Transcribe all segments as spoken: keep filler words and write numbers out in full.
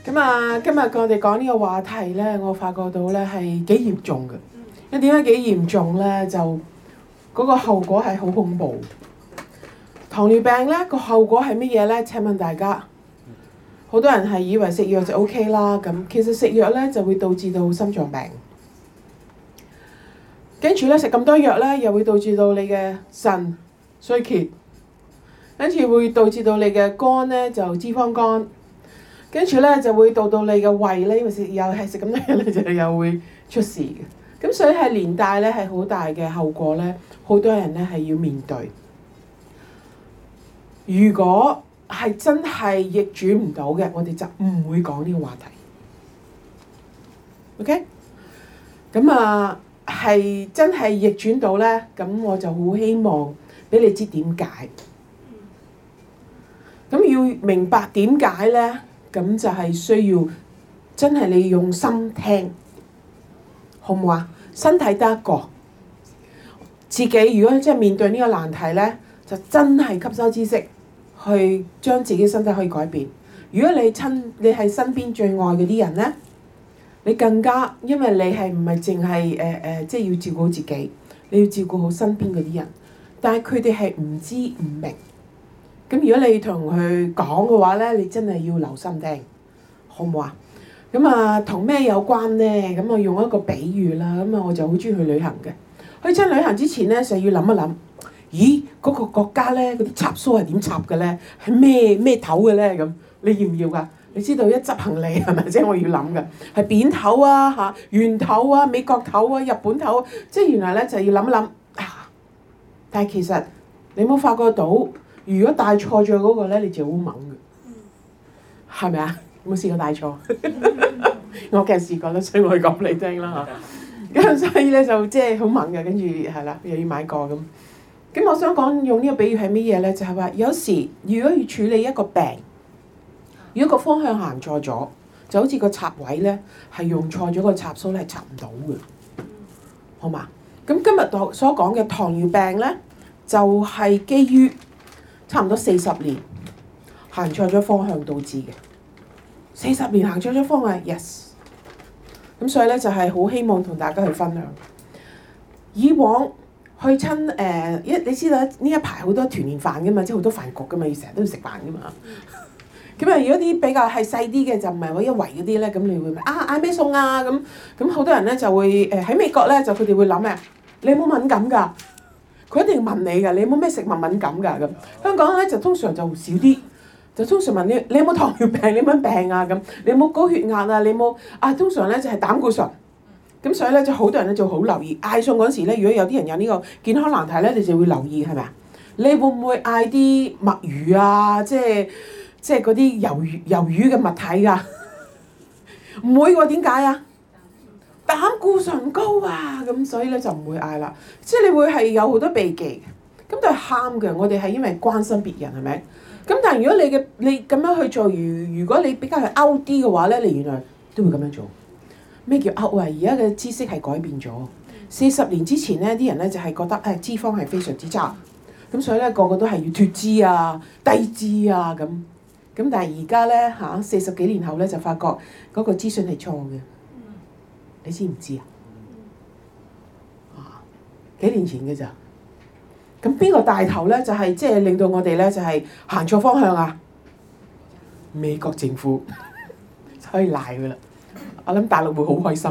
咁啊，今日我哋講呢個話題咧，我發覺到咧係幾嚴重嘅。因為點解幾嚴重咧？就嗰個後果係好恐怖。糖尿病咧個後果係乜嘢咧？請問大家，好多人係以為食藥就 O K 啦，咁其實食藥咧就會導致到心臟病，跟住咧食咁多藥咧，又會導致到你嘅腎衰竭，跟住會導致到你嘅肝咧就脂肪肝。跟住咧就會到到你嘅胃咧，因為食又係食咁多嘢咧，就又會出事嘅。咁所以係連帶咧係好大嘅後果咧，好多人咧係要面對。如果係真係逆轉唔到嘅，我哋就唔會講呢個話題。OK？咁啊，係真係逆轉到咧，咁我就好希望俾你知點解。咁要明白點解咧？咁就係需要真係你用心聽，好唔好啊？身體得一個，自己如果真係面對呢個難題咧，就真係吸收知識，去將自己身體可以改變。如果你親你係身邊最愛嗰啲人咧，你更加因為你係唔係淨係誒誒，即係要照顧好自己，你要照顧好身邊嗰啲人，但係佢哋係唔知唔明。咁如果你同佢講嘅話咧，你真係要留心聽，好唔好啊？咁啊，同咩有關咧？咁我用一個比喻啦。咁啊，我就好中意去旅行嘅。去親旅行之前咧，就要諗一諗，咦，嗰個國家咧，嗰啲插蘇係點插嘅咧？係咩咩頭嘅咧？咁你要唔要㗎？你知道一執行李係咪？即係我要諗嘅，係扁頭啊、嚇圓頭啊、美國頭啊、日本頭啊，即係原來咧就要諗一諗啊。但係其實你冇發覺到？如果帶錯咗嗰個咧，你就好猛嘅，係咪啊？有冇試過帶錯？我梗係試過啦，所以我講俾你聽啦嚇。咁所以咧就即係好猛嘅，跟住係啦，又要買個咁。咁我想講用呢個比喻係乜嘢咧？就係話有時如果要處理一個病，如果個方向行錯咗，就好似個插位咧係用錯咗個插蘇咧係插唔到嘅，好嘛？咁今日所講嘅糖尿病咧，就係基於差唔多四十年行錯咗方向導致嘅，四十年行錯咗方向 ，yes。咁所以咧就係好希望同大家去分享。以往去親誒一，你知道呢一排好多團年飯噶嘛，即係好多飯局噶嘛，要成日都要食飯噶嘛。咁啊，如果啲比較係細啲嘅，就唔係話一圍嗰啲咧，咁你會問啊嗌咩餸啊咁？咁好多人咧就會誒喺美國咧就佢哋會諗咩？你有冇敏感㗎？佢一定問你㗎，你有冇咩食物敏感㗎咁？香港咧就通常就少啲，就通常問你，你有冇糖尿病？你有冇病啊咁？你有冇高血壓啊？你有冇啊？通常咧就係膽固醇。咁所以咧就好多人咧就好留意嗌餸嗰時咧，如果有啲人有呢個健康難題咧，你就會留意係咪啊？你會唔會嗌啲墨魚啊？即係即係嗰啲魷魚魷魚嘅物體㗎？唔會喎，點解啊？膽固醇高啊，咁所以咧就唔會嗌啦。即係你會係有好多避忌嘅，咁都係啱嘅。我哋係因為關心別人係咪？咁但係如果你嘅你咁樣去做，如如果你比較係 out 啲嘅話咧，你原來都會咁樣做。咩叫 out 啊？而家嘅知識係改變咗。四十年之前咧，啲人咧就係覺得誒脂肪係非常之差，咁所以咧個個都係要脱脂啊、低脂啊咁。咁但係而家咧嚇四十幾年後咧就發覺嗰個資訊係錯嘅。你知唔知啊？啊，幾年前嘅咋？咁邊個帶頭咧？就係即係令到我哋咧就係行錯方向啊！美國政府可以賴佢啦。我諗大陸會好開心，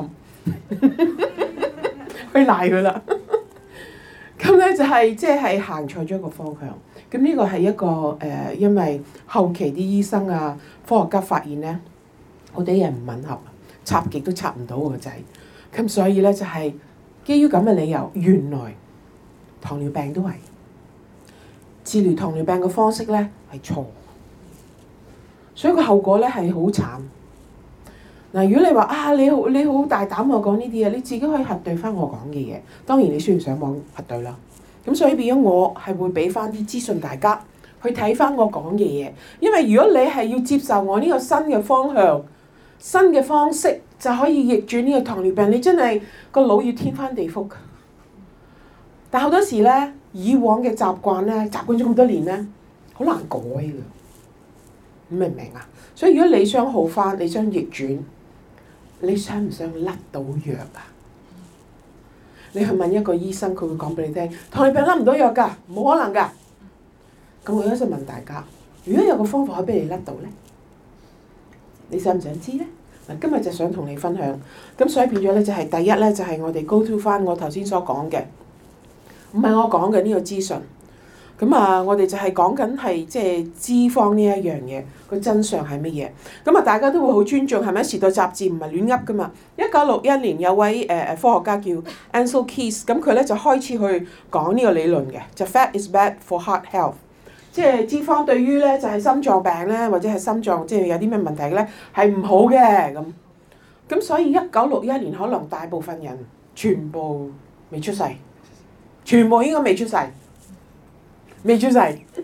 可以賴佢啦。咁咧就係即係行錯咗一個方向。咁呢個係一個誒、呃，因為後期啲醫生啊、科學家發現咧，我哋人唔吻合。插極都插唔到個仔，咁所以咧就係基於咁嘅理由，原來糖尿病都係治療糖尿病嘅方式咧係錯，所以個後果咧係好慘。嗱，如果你話啊你好你好大膽我講呢啲嘢，你自己可以核對翻我講嘅嘢，當然你需要上網核對啦。咁所以變咗我係會俾翻啲資訊大家去睇翻我講嘅嘢，因為如果你係要接受我呢個新嘅方向。新嘅方式就可以逆轉呢個糖尿病，你真係個腦要天翻地覆。但好多時咧，以往嘅習慣咧，習慣咗咁多年咧，好難改嘅。 明唔明啊？所以如果你想好翻，你想逆轉，你想唔想甩到藥啊？你去問一個醫生，佢會講俾你聽，糖尿病甩唔到藥㗎，冇可能㗎。咁我而家就問大家，如果有個方法可以俾你甩到咧，你想唔想知咧？嗱，今日就想同你分享。咁所以變咗咧，就係第一咧，就係我哋 go to 翻我頭先所講嘅，唔係我講嘅呢個資訊。咁啊，我哋就係講緊係即係脂肪呢一樣嘢，個真相係乜嘢？咁啊，大家都會好尊重，係咪？時代雜誌唔係亂噏噶嘛。一九六一年有位誒誒、呃、科學家叫 Ancel Keys，咁佢咧就開始去講呢個理論嘅，就 Fat is bad for heart health， 即係脂肪對於咧就係、是、心臟病咧，或者係心臟即係有啲咩問題咧係唔好嘅咁。咁所以一九六一年可能大部分人全部未出世，全部應該未出世。未出世，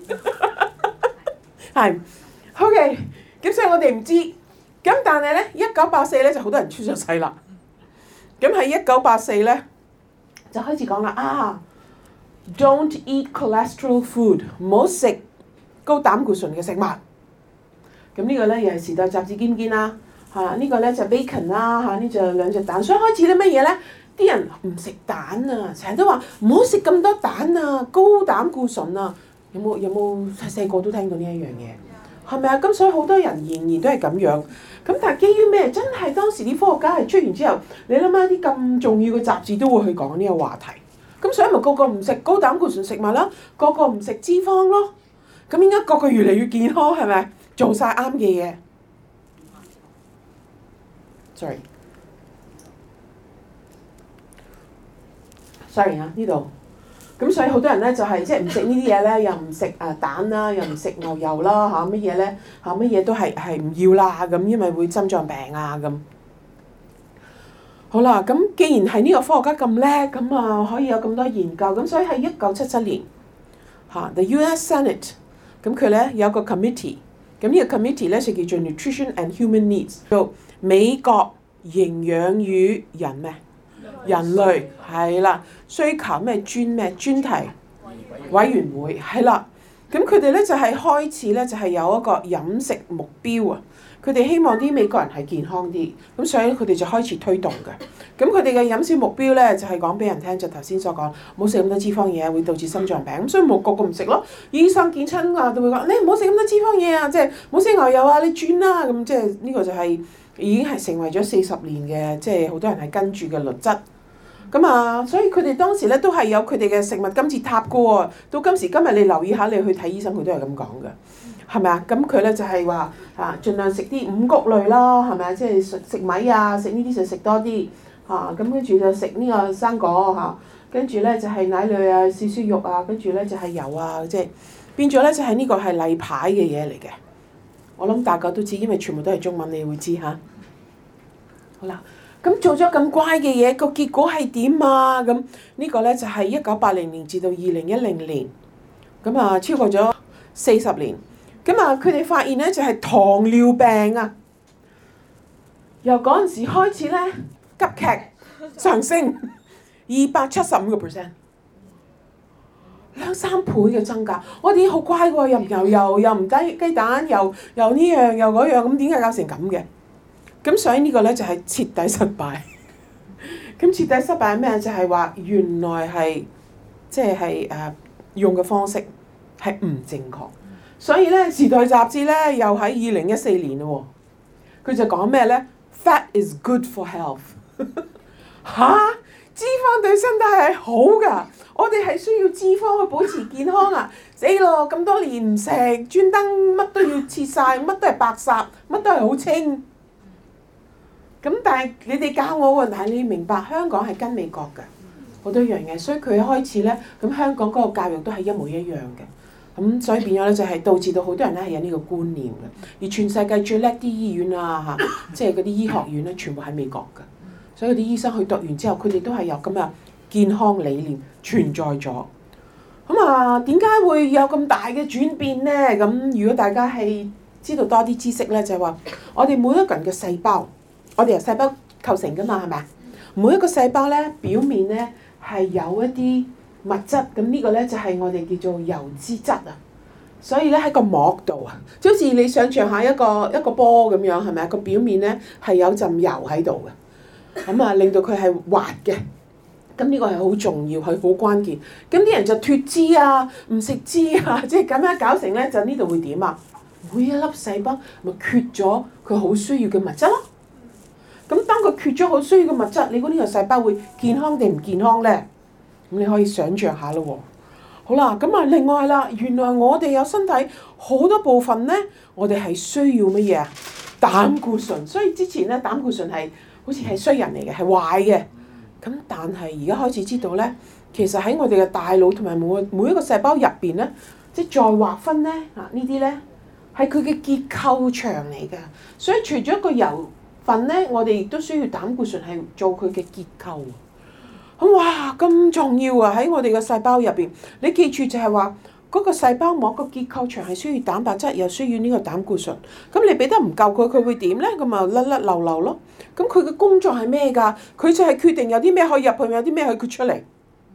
係，OK，咁所以我哋唔知，咁但係咧，一九八四咧就好多人出咗世啦。咁喺一九八四咧就開始講啦，啊 ，don't eat cholesterol food， 唔好食高膽固醇嘅食物。咁呢個咧又係時代雜誌見唔見啦？嚇、啊，呢、這個咧就 bacon 啦，嚇，呢就兩隻蛋。所以開始咧乜嘢咧？啲人唔食蛋啊，成日都話唔好食咁多蛋啊，高膽固醇啊，有冇有冇細細個都聽到呢一樣嘢？係咪啊？咁所以好多人仍然都係咁樣。咁但係基於咩？真係當時啲科學家係出完之後，你諗下啲咁重要嘅雜誌都會去講呢個話題。咁所以咪個個唔食高膽固醇食物啦，個個唔食脂肪咯。咁應該個個越嚟越健康係咪？做晒啱嘅嘢。Sorry。sorry 啊，呢度，咁所以好多人咧就係即係唔食呢啲嘢咧，又唔食誒蛋啦，又唔食牛油啦嚇，乜嘢咧嚇，乜嘢都係係唔要啦咁，因為會心臟病啊咁。好啦，咁既然係呢個科學家咁叻，咁啊可以有咁多研究，咁所以喺一九七七年嚇 The U S Senate， 咁佢咧有個 committee， 咁呢個 committee 咧就叫做 Nutrition and Human Needs， 做美國營養與人咩？人類係啦，需求咩專咩專題委員會係啦，咁佢哋咧就係開始咧就係有一個飲食目標啊，佢哋希望啲美國人係健康啲，咁所以佢哋就開始推動嘅。咁佢哋嘅飲食目標咧就係講俾人聽，就頭先所講，唔好食咁多脂肪嘢，會導致心臟病。咁所以冇個個唔食咯。醫生見親啊，都會講你唔好食咁多脂肪嘢啊，即係唔好食牛油啊，你轉啦咁，即係呢個就係已經係成為咗四十年嘅，即係好多人係跟住嘅律則。咁啊，所以佢哋當時咧都係有佢哋嘅食物金字塔噶喎。到今時今日，你留意下，你去睇醫生，佢都係咁講嘅，係咪啊？咁佢咧就係話啊，盡量食啲五穀類啦，係咪啊？即係食食米啊，食呢啲就食多啲嚇。咁跟住就食呢個生果嚇，跟住咧就係奶類啊、少少肉啊，跟住咧就係油啊，即係變咗咧就係呢個係例牌嘅嘢嚟嘅。我諗大家都知，因為全部都係中文，你會知嚇。好啦。咁做咗咁乖嘅嘢，個結果係點啊？咁呢個咧就係一九八零年至到二零一零年，咁啊超過咗四十年。咁啊佢哋發現咧就係糖尿病啊，由嗰陣時開始咧急劇上升二百七十五個 percent， 兩三倍嘅增加。我哋已經好乖喎，又唔牛油，又唔雞雞蛋，又又呢樣又嗰樣，咁點解搞成咁嘅？咁所以呢個咧就係徹底失敗。咁徹底失敗係咩？就係話原來係即係誒用嘅方式係唔正確。所以咧《時代雜誌》咧又喺二零一四年咯喎，佢就講咩咧 ？Fat is good for health 嚇，脂肪對身體係好㗎。我哋係需要脂肪去保持健康啊！死咯，咁多年唔食，專登乜都要切晒，乜都係白烚，乜都係好清。咁但係你哋教我喎，但係你明白香港係跟美國嘅好多樣嘢，所以佢開始咧，咁香港嗰個教育都係一模一樣嘅，咁所以變咗咧就係導致到好多人咧係有呢個觀念嘅，而全世界最叻啲醫院啊嚇，即係嗰啲醫學院咧全部喺美國嘅，所以啲醫生去讀完之後，佢哋都係有咁嘅健康理念存在咗。咁啊，點解會有咁大嘅轉變咧？咁如果大家係知道多啲知識咧，就係話我哋每一個人嘅細胞。我哋由細胞構成㗎嘛，係咪啊？每一個細胞咧，表面咧係有一啲物質，咁呢個咧就係我哋叫做油脂質啊。 所以咧喺個膜度啊，就好似你想象下一個一個波咁樣，係咪啊？個表面咧係有陣油喺度嘅，咁啊令到佢係滑嘅。咁呢個係好重要，係好關鍵。咁啲人就脫脂啊，唔食脂啊，即係咁樣搞成咧，就呢度會點啊？每一粒細胞咪缺咗佢好需要嘅物質咯。咁當佢缺咗好需要嘅物質，你估呢個細胞會健康定唔健康咧？咁你可以想像下咯喎。好啦，咁啊另外啦，原來我哋有身體好多部分咧，我哋係需要乜嘢啊？膽固醇。所以之前咧膽固醇係好似係衰人嚟嘅，係壞嘅。咁但係而家開始知道咧，其實喺我哋嘅大腦同埋每每一個細胞入邊咧，即係再劃分咧啊呢啲咧係佢嘅結構牆嚟㗎。所以除咗一個油份咧，我哋亦都需要膽固醇係做佢嘅結構。咁哇咁重要啊！喺我哋嘅細胞入邊，你記住就係話嗰個細胞膜個結構牆係需要蛋白質，又需要呢個膽固醇。咁你俾得唔夠佢，佢會點咧？咁啊甩甩漏漏咯。咁佢嘅工作係咩㗎？佢就係決定有啲咩可以入去，有啲咩可以豁出嚟。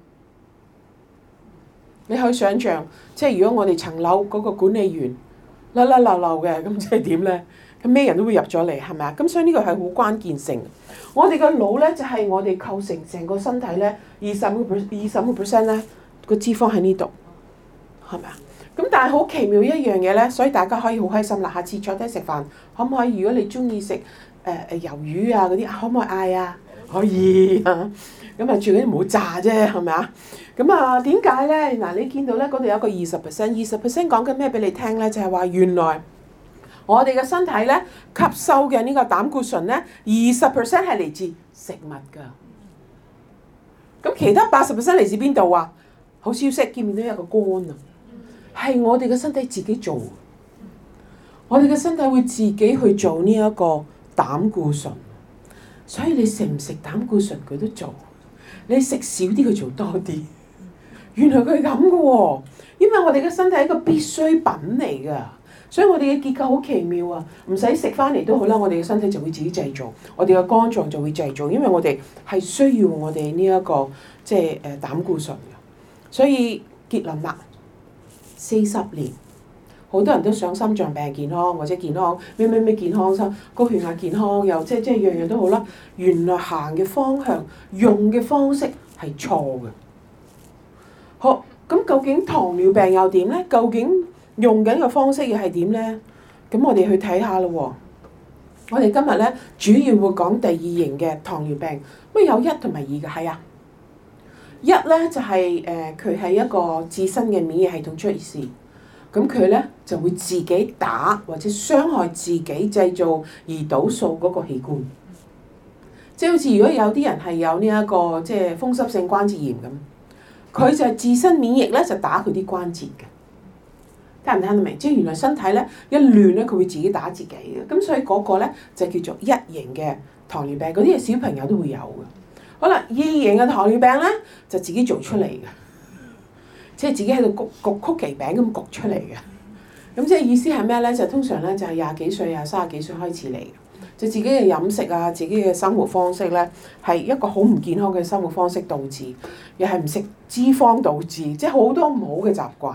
你可以想像，即係如果我哋層樓嗰個管理員甩甩漏漏嘅，咁即係點咧？咁咩人都會入咗嚟，係咪啊？咁所以呢個係好關鍵性。我哋個腦咧就係我哋構成成個身體咧二十個 per 二十個 percent 咧個脂肪喺呢度，係咪啊？咁但係好奇妙一樣嘢咧，所以大家可以好開心啦。下次坐低食飯，可唔可以？如果你中意食誒誒魷魚啊嗰啲，可唔可以嗌啊？可以啊。咁啊，最緊要唔好炸啫，係咪啊？咁啊，點解咧？嗱，你見到咧嗰度有個二十 percent， 二十 percent 講緊咩俾你聽咧？就係話原來我哋嘅身體咧吸收嘅呢個膽固醇咧，二十 percent 係嚟自食物㗎。咁其他八十 percent 嚟自邊度啊？好消息，見唔見到有個肝啊？係我哋嘅身體自己做。我哋嘅身體會自己去做呢一個膽固醇。所以你食唔食膽固醇佢都做，你食少啲佢做多啲。原來佢係咁嘅喎，因為我哋嘅身體係一個必需品嚟㗎，所以我哋嘅結構好奇妙啊！唔使食翻嚟都好啦，我哋嘅身體就會自己製造，我哋嘅肝臟就會製造，因為我哋係需要我哋呢一個即係誒膽固醇嘅。所以結論啦，四十年。好多人都想心臟病健康或者健康咩咩咩健康心高血壓健康又即係即係樣樣都好啦。原來行嘅方向用嘅方式係錯嘅。好，咁究竟糖尿病又點咧？究竟用緊嘅方式又係點咧？咁我哋去睇下咯喎。我哋今日咧主要會講第二型嘅糖尿病。乜有一同埋二嘅？係啊。一咧就係誒佢係一個自身嘅免疫系統出事。咁佢咧就會自己打或者傷害自己製造胰島素嗰個器官，即係好似如果有啲人係有呢一個即係風濕性關節炎咁，佢就係自身免疫咧就打佢啲關節嘅，聽唔聽得明？即係原來身體咧一亂咧，佢會自己打自己嘅，咁所以嗰個咧就叫做一型嘅糖尿病，嗰啲係小朋友都會有嘅。好啦，二型嘅糖尿病咧就自己做出嚟嘅。即係自己喺度焗焗曲奇餅咁焗出嚟嘅，咁即係意思係咩咧？就通常咧就係廿幾歲啊、三十幾歲開始嚟嘅，就自己嘅飲食啊、自己嘅生活方式咧係一個好唔健康嘅生活方式導致，又係唔食脂肪導致，即係好多唔好嘅習慣。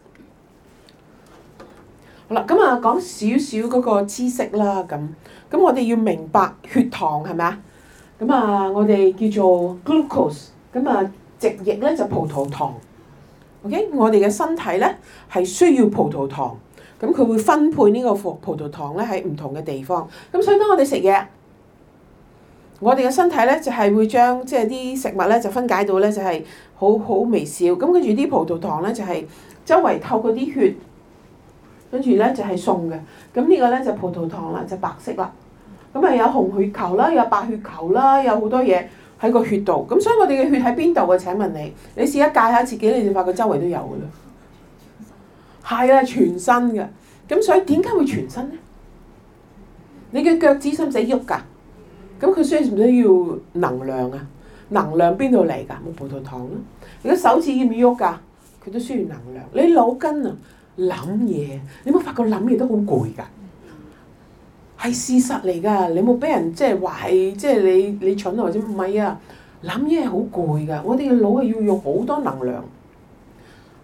好啦，咁啊講少少嗰個知識啦，咁咁我哋要明白血糖係咪啊？咁啊我哋叫做 glucose，咁啊直譯咧就葡萄糖。OK， 我哋嘅身體咧係需要葡萄糖，咁佢會分配呢個葡葡萄糖咧喺唔同嘅地方。咁所以當我哋食嘢，我哋嘅身體咧就係會將即係啲食物咧就分解到咧就係好好微小。咁跟住啲葡萄糖咧就係周圍透過啲血，跟住咧就係送嘅。咁呢個咧就葡萄糖啦，就白色啦。咁啊有紅血球啦，有白血球啦，有好多嘢喺個血度，咁所以我哋嘅血喺邊度啊？請問你，你試一戒下自己，你就發覺周圍都有噶啦。係啊，全身嘅。咁所以點解會全身咧？你嘅腳趾使唔使喐㗎？咁佢需唔需要能量啊？能量邊度嚟㗎？冇葡萄糖咯。你嘅手指要唔要喐㗎？佢都需要能量。你腦筋啊，諗嘢，你冇發覺諗嘢都好攰㗎？係事實嚟㗎，你冇俾人即係話係即係你你蠢或者唔係啊？諗嘢係好攰㗎，我哋嘅腦係要用好多能量。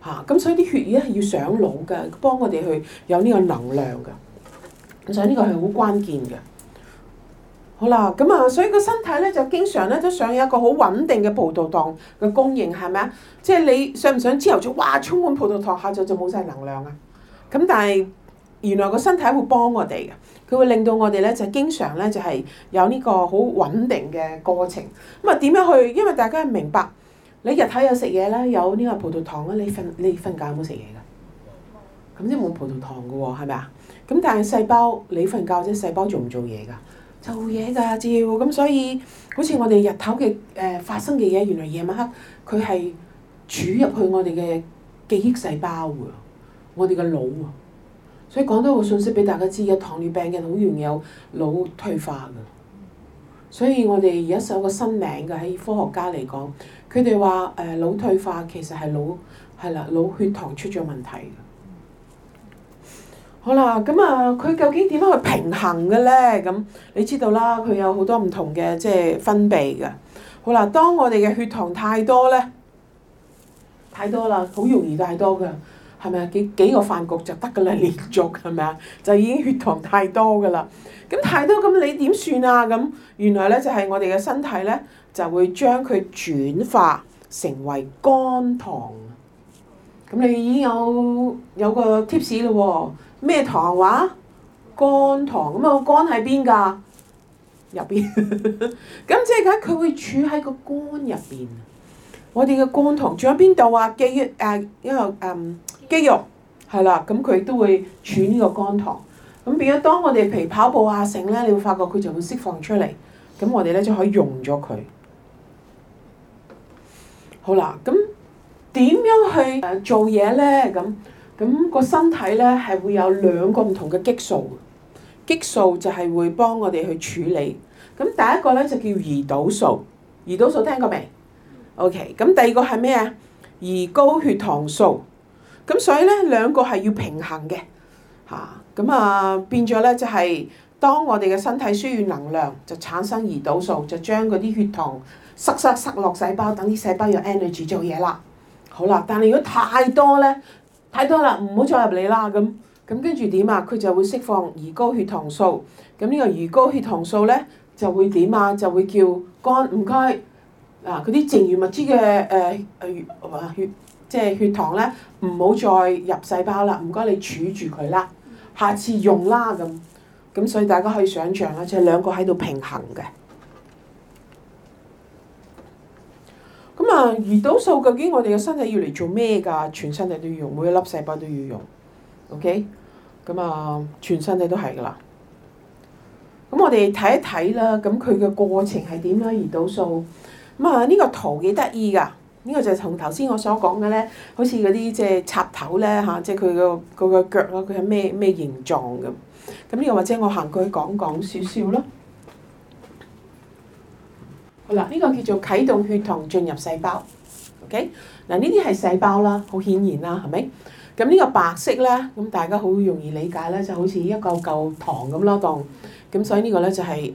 嚇，咁所以啲血液係要上腦嘅，幫我哋去有呢個能量嘅。咁所以呢個係好關鍵嘅。好啦，咁啊，所以個身體咧就經常咧都想有一個好穩定嘅葡萄糖嘅供應，係咪啊？即係你想唔想朝頭早哇充滿葡萄糖，下晝就冇晒能量啊？咁但係原來個身體會幫我哋嘅，佢會令到我哋咧就經常咧就係有呢個好穩定嘅過程。咁啊點樣去？因為大家明白。你日頭有食嘢啦，有呢個葡萄糖啦，你瞓你瞓覺有冇食嘢㗎？咁即係冇葡萄糖㗎喎，係咪啊？咁但係細胞你瞓覺啫，細胞做唔做嘢㗎？做嘢㗎，照咁所以好似我哋日頭嘅誒發生嘅嘢，原來夜晚黑佢係儲入去我哋嘅記憶細胞㗎，我哋嘅腦啊。所以講多個信息俾大家知，有糖尿病嘅好容易有腦退化㗎。所以我哋而家有個新名嘅喺科學家嚟講。佢哋話誒腦退化其實係腦係啦，腦血糖出咗問題嘅。好啦，咁啊，佢究竟點樣去平衡嘅咧？咁你知道啦，佢有好多唔同嘅即係分泌嘅。好啦，當我哋嘅血糖太多咧，太多啦，好容易太多㗎，係咪啊？幾幾個飯局就得㗎啦，連續係咪啊？就已經血糖太多㗎啦。咁太多咁你點算啊？咁原來咧就係我哋嘅身體咧。就會將佢轉化成為肝糖。咁你已經有有個 tips 咯喎，咩糖話？肝糖。咁啊，肝喺邊㗎？入邊。咁即係講佢會儲喺個肝入邊。我哋嘅肝糖仲喺邊度啊？肌肉誒，因為誒肌肉係啦，咁佢都會儲呢個肝糖。咁變咗當我哋譬如跑步啊成咧，你會發覺佢就會釋放出嚟。咁我哋咧就可以用咗佢。好啦，咁點樣去誒做嘢咧？咁咁個身體咧係會有兩個唔同嘅激素，激素就係會幫我哋去處理。咁第一個咧就叫胰島素，胰島素聽過未 ？OK，咁第二個係咩啊？胰高血糖素。咁所以咧兩個係要平衡嘅嚇。咁啊變咗咧就係當我哋嘅身體需要能量，就產生胰島素，就將嗰啲血糖。塞塞塞落細胞，等啲細胞有 energy 做嘢啦。好啦，但係如果太多咧，太多啦，唔好再入嚟啦。咁咁跟住點啊？佢就會釋放胰高血糖素。咁呢個胰高血糖素咧就會點啊？就會叫肝唔該啊！嗰啲剩餘物質嘅誒誒血即係血糖咧，唔好再入細胞啦。唔該你儲住佢啦，下次用啦咁。咁所以大家可以想象啦，就係兩個喺度平衡嘅。咁啊，胰島素究竟我哋嘅身體要嚟做咩㗎？全身體都要用，每一粒細胞都要用。OK，咁啊，全身體都係㗎啦。咁我哋睇一睇啦，咁佢嘅過程係點咧？胰島素咁啊，呢個圖幾得意㗎？呢個就係同頭先我所講嘅咧，好似嗰啲即係插頭咧嚇，即係佢個個個腳咯，佢係咩咩形狀咁？咁呢個或者我行過去講講少少咯。好啦，呢個叫做啟動血糖進入細胞。OK，嗱呢啲係細胞啦，好顯然啦，係咪？咁呢個白色咧，咁大家好容易理解咧，就好似一嚿嚿糖咁咯，當咁所以呢個咧就係誒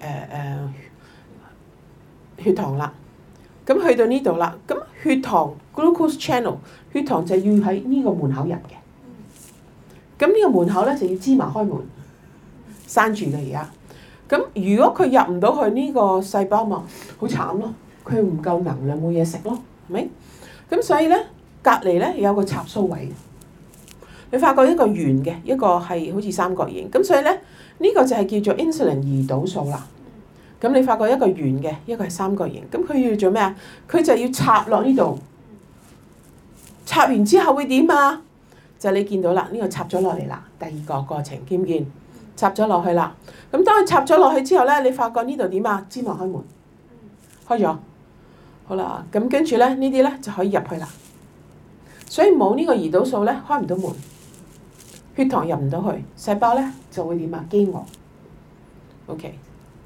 誒血糖啦。咁去到呢度啦，咁血糖 glucose channel 血糖就要喺呢個門口入嘅。咁呢個門口咧就要芝麻開門，閂住嘅而家。咁如果佢入唔到去呢個細胞嘛，好慘咯，佢唔夠能量冇嘢食咯，係咪？咁所以咧，隔離咧有個插蘇位，你發覺一個圓嘅，一個係好似三角形，咁所以咧呢個就係叫做 insulin 胰島素啦。咁你發覺一個圓嘅，一個係三角形，咁佢要做咩啊？佢就要插落呢度，插完之後會點啊？就你見到啦，呢個插咗落嚟啦，第二個過程見唔見？插咗落去啦，咁當佢插咗落去之後咧，你發覺呢度點啊？芝麻開門，開咗，好啦，咁跟住咧呢啲咧就可以入去啦。所以冇呢個胰島素咧，開唔到門，血糖入唔到去，細胞咧就會點啊？飢餓。OK，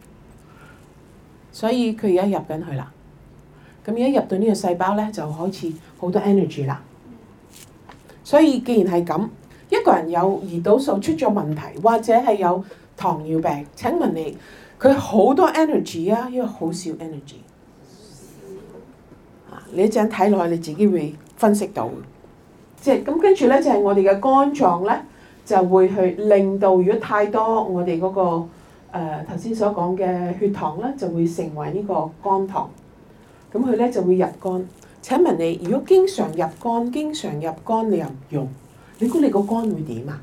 所以佢而家入緊去啦。咁而家入到呢個細胞咧，就開始好多 energy 啦。所以既然係咁。一個人有胰島素出咗問題，或者係有糖尿病，請問你佢好多 energy 啊，因為好少 energy。啊，你一陣睇落去，你自己會分析到。 即係咁跟住咧就係我哋嘅肝臟咧就會去令到如果太多我哋嗰個誒頭先所講嘅血糖咧就會成為呢個肝糖，咁佢咧就會入肝。請問你如果經常入肝，經常入肝你又唔用，你估你個肝會點啊？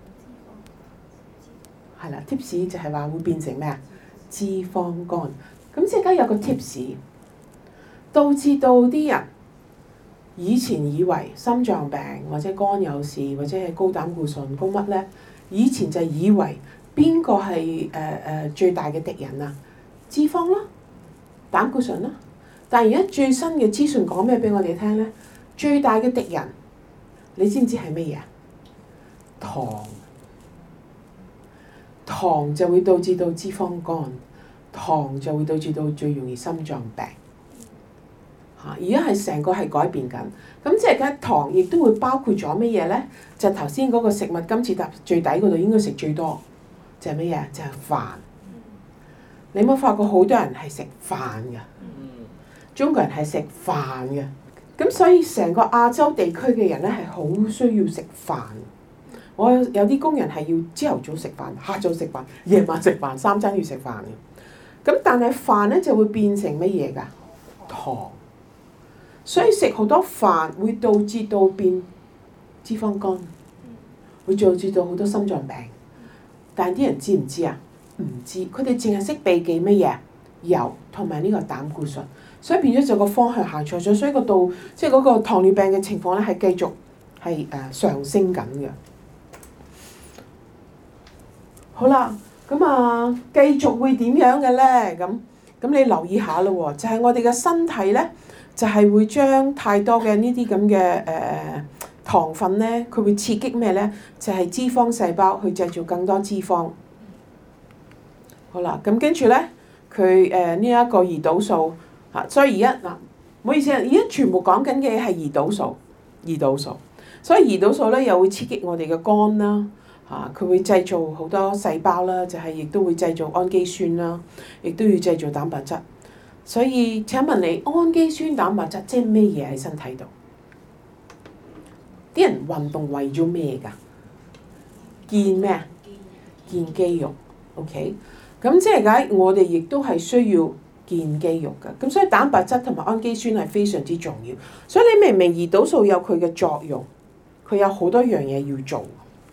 係啦 ，tips 就係話會變成咩啊？脂肪肝。咁即係而家有個 tips，導致到啲人以前以為心臟病或者肝有事或者係高膽固醇高乜咧，以前就以為邊個係誒誒最大嘅敵人啊？脂肪啦，膽固醇啦。但係而家最新嘅資訊講咩俾我哋聽咧？最大嘅敵人，你知唔知係乜嘢？糖。糖就會導致到脂肪肝，糖就會導致到最容易心臟病。嚇！而家係成個係改變緊，咁即係而家糖亦都會包括咗乜嘢咧？就頭先嗰個食物金字塔最底嗰度應該食最多，就係乜嘢？就係飯。你有冇發覺好多人係食飯㗎？中國人係食飯嘅，咁所以成個亞洲地區嘅人咧係好需要食飯。我有啲工人係要朝頭早食飯、下晝食飯、夜晚食飯，三餐要食飯嘅。咁但係飯咧就會變成乜嘢㗎？糖。所以食好多飯會導致到變脂肪肝，會導致到好多心臟病。但係啲人知唔知啊？唔知，佢哋淨係識避忌乜嘢？油同埋呢個膽固醇。所以變咗就個方向行錯咗，所以個度即係嗰個糖尿病嘅情況咧係繼續係誒上升緊嘅。好啦，咁啊繼續會點樣嘅咧？咁咁你留意下咯喎，就係我哋嘅身體咧，就係會將太多嘅呢啲咁嘅誒糖分咧，佢會刺激咩咧？就係脂肪細胞去製造更多脂肪。好啦，咁跟住咧，佢誒呢一個胰島素啊，所以而家嗱，唔好意思啊，而家全部講緊嘅係胰島素，胰島素，所以胰島素咧又會刺激我哋嘅肝啦。啊！佢會製造好多細胞啦，就係亦都會製造氨基酸啦，亦都要製造蛋白質。所以請問你，氨基酸、蛋白質即係咩嘢喺身體度？啲人運動為咗咩㗎？建咩啊？建肌肉。OK，咁即係解我哋亦都係需要建肌肉㗎。咁所以蛋白質同埋氨基酸係非常之重要。所以你明唔明胰島素有佢嘅作用？佢有好多樣嘢要做。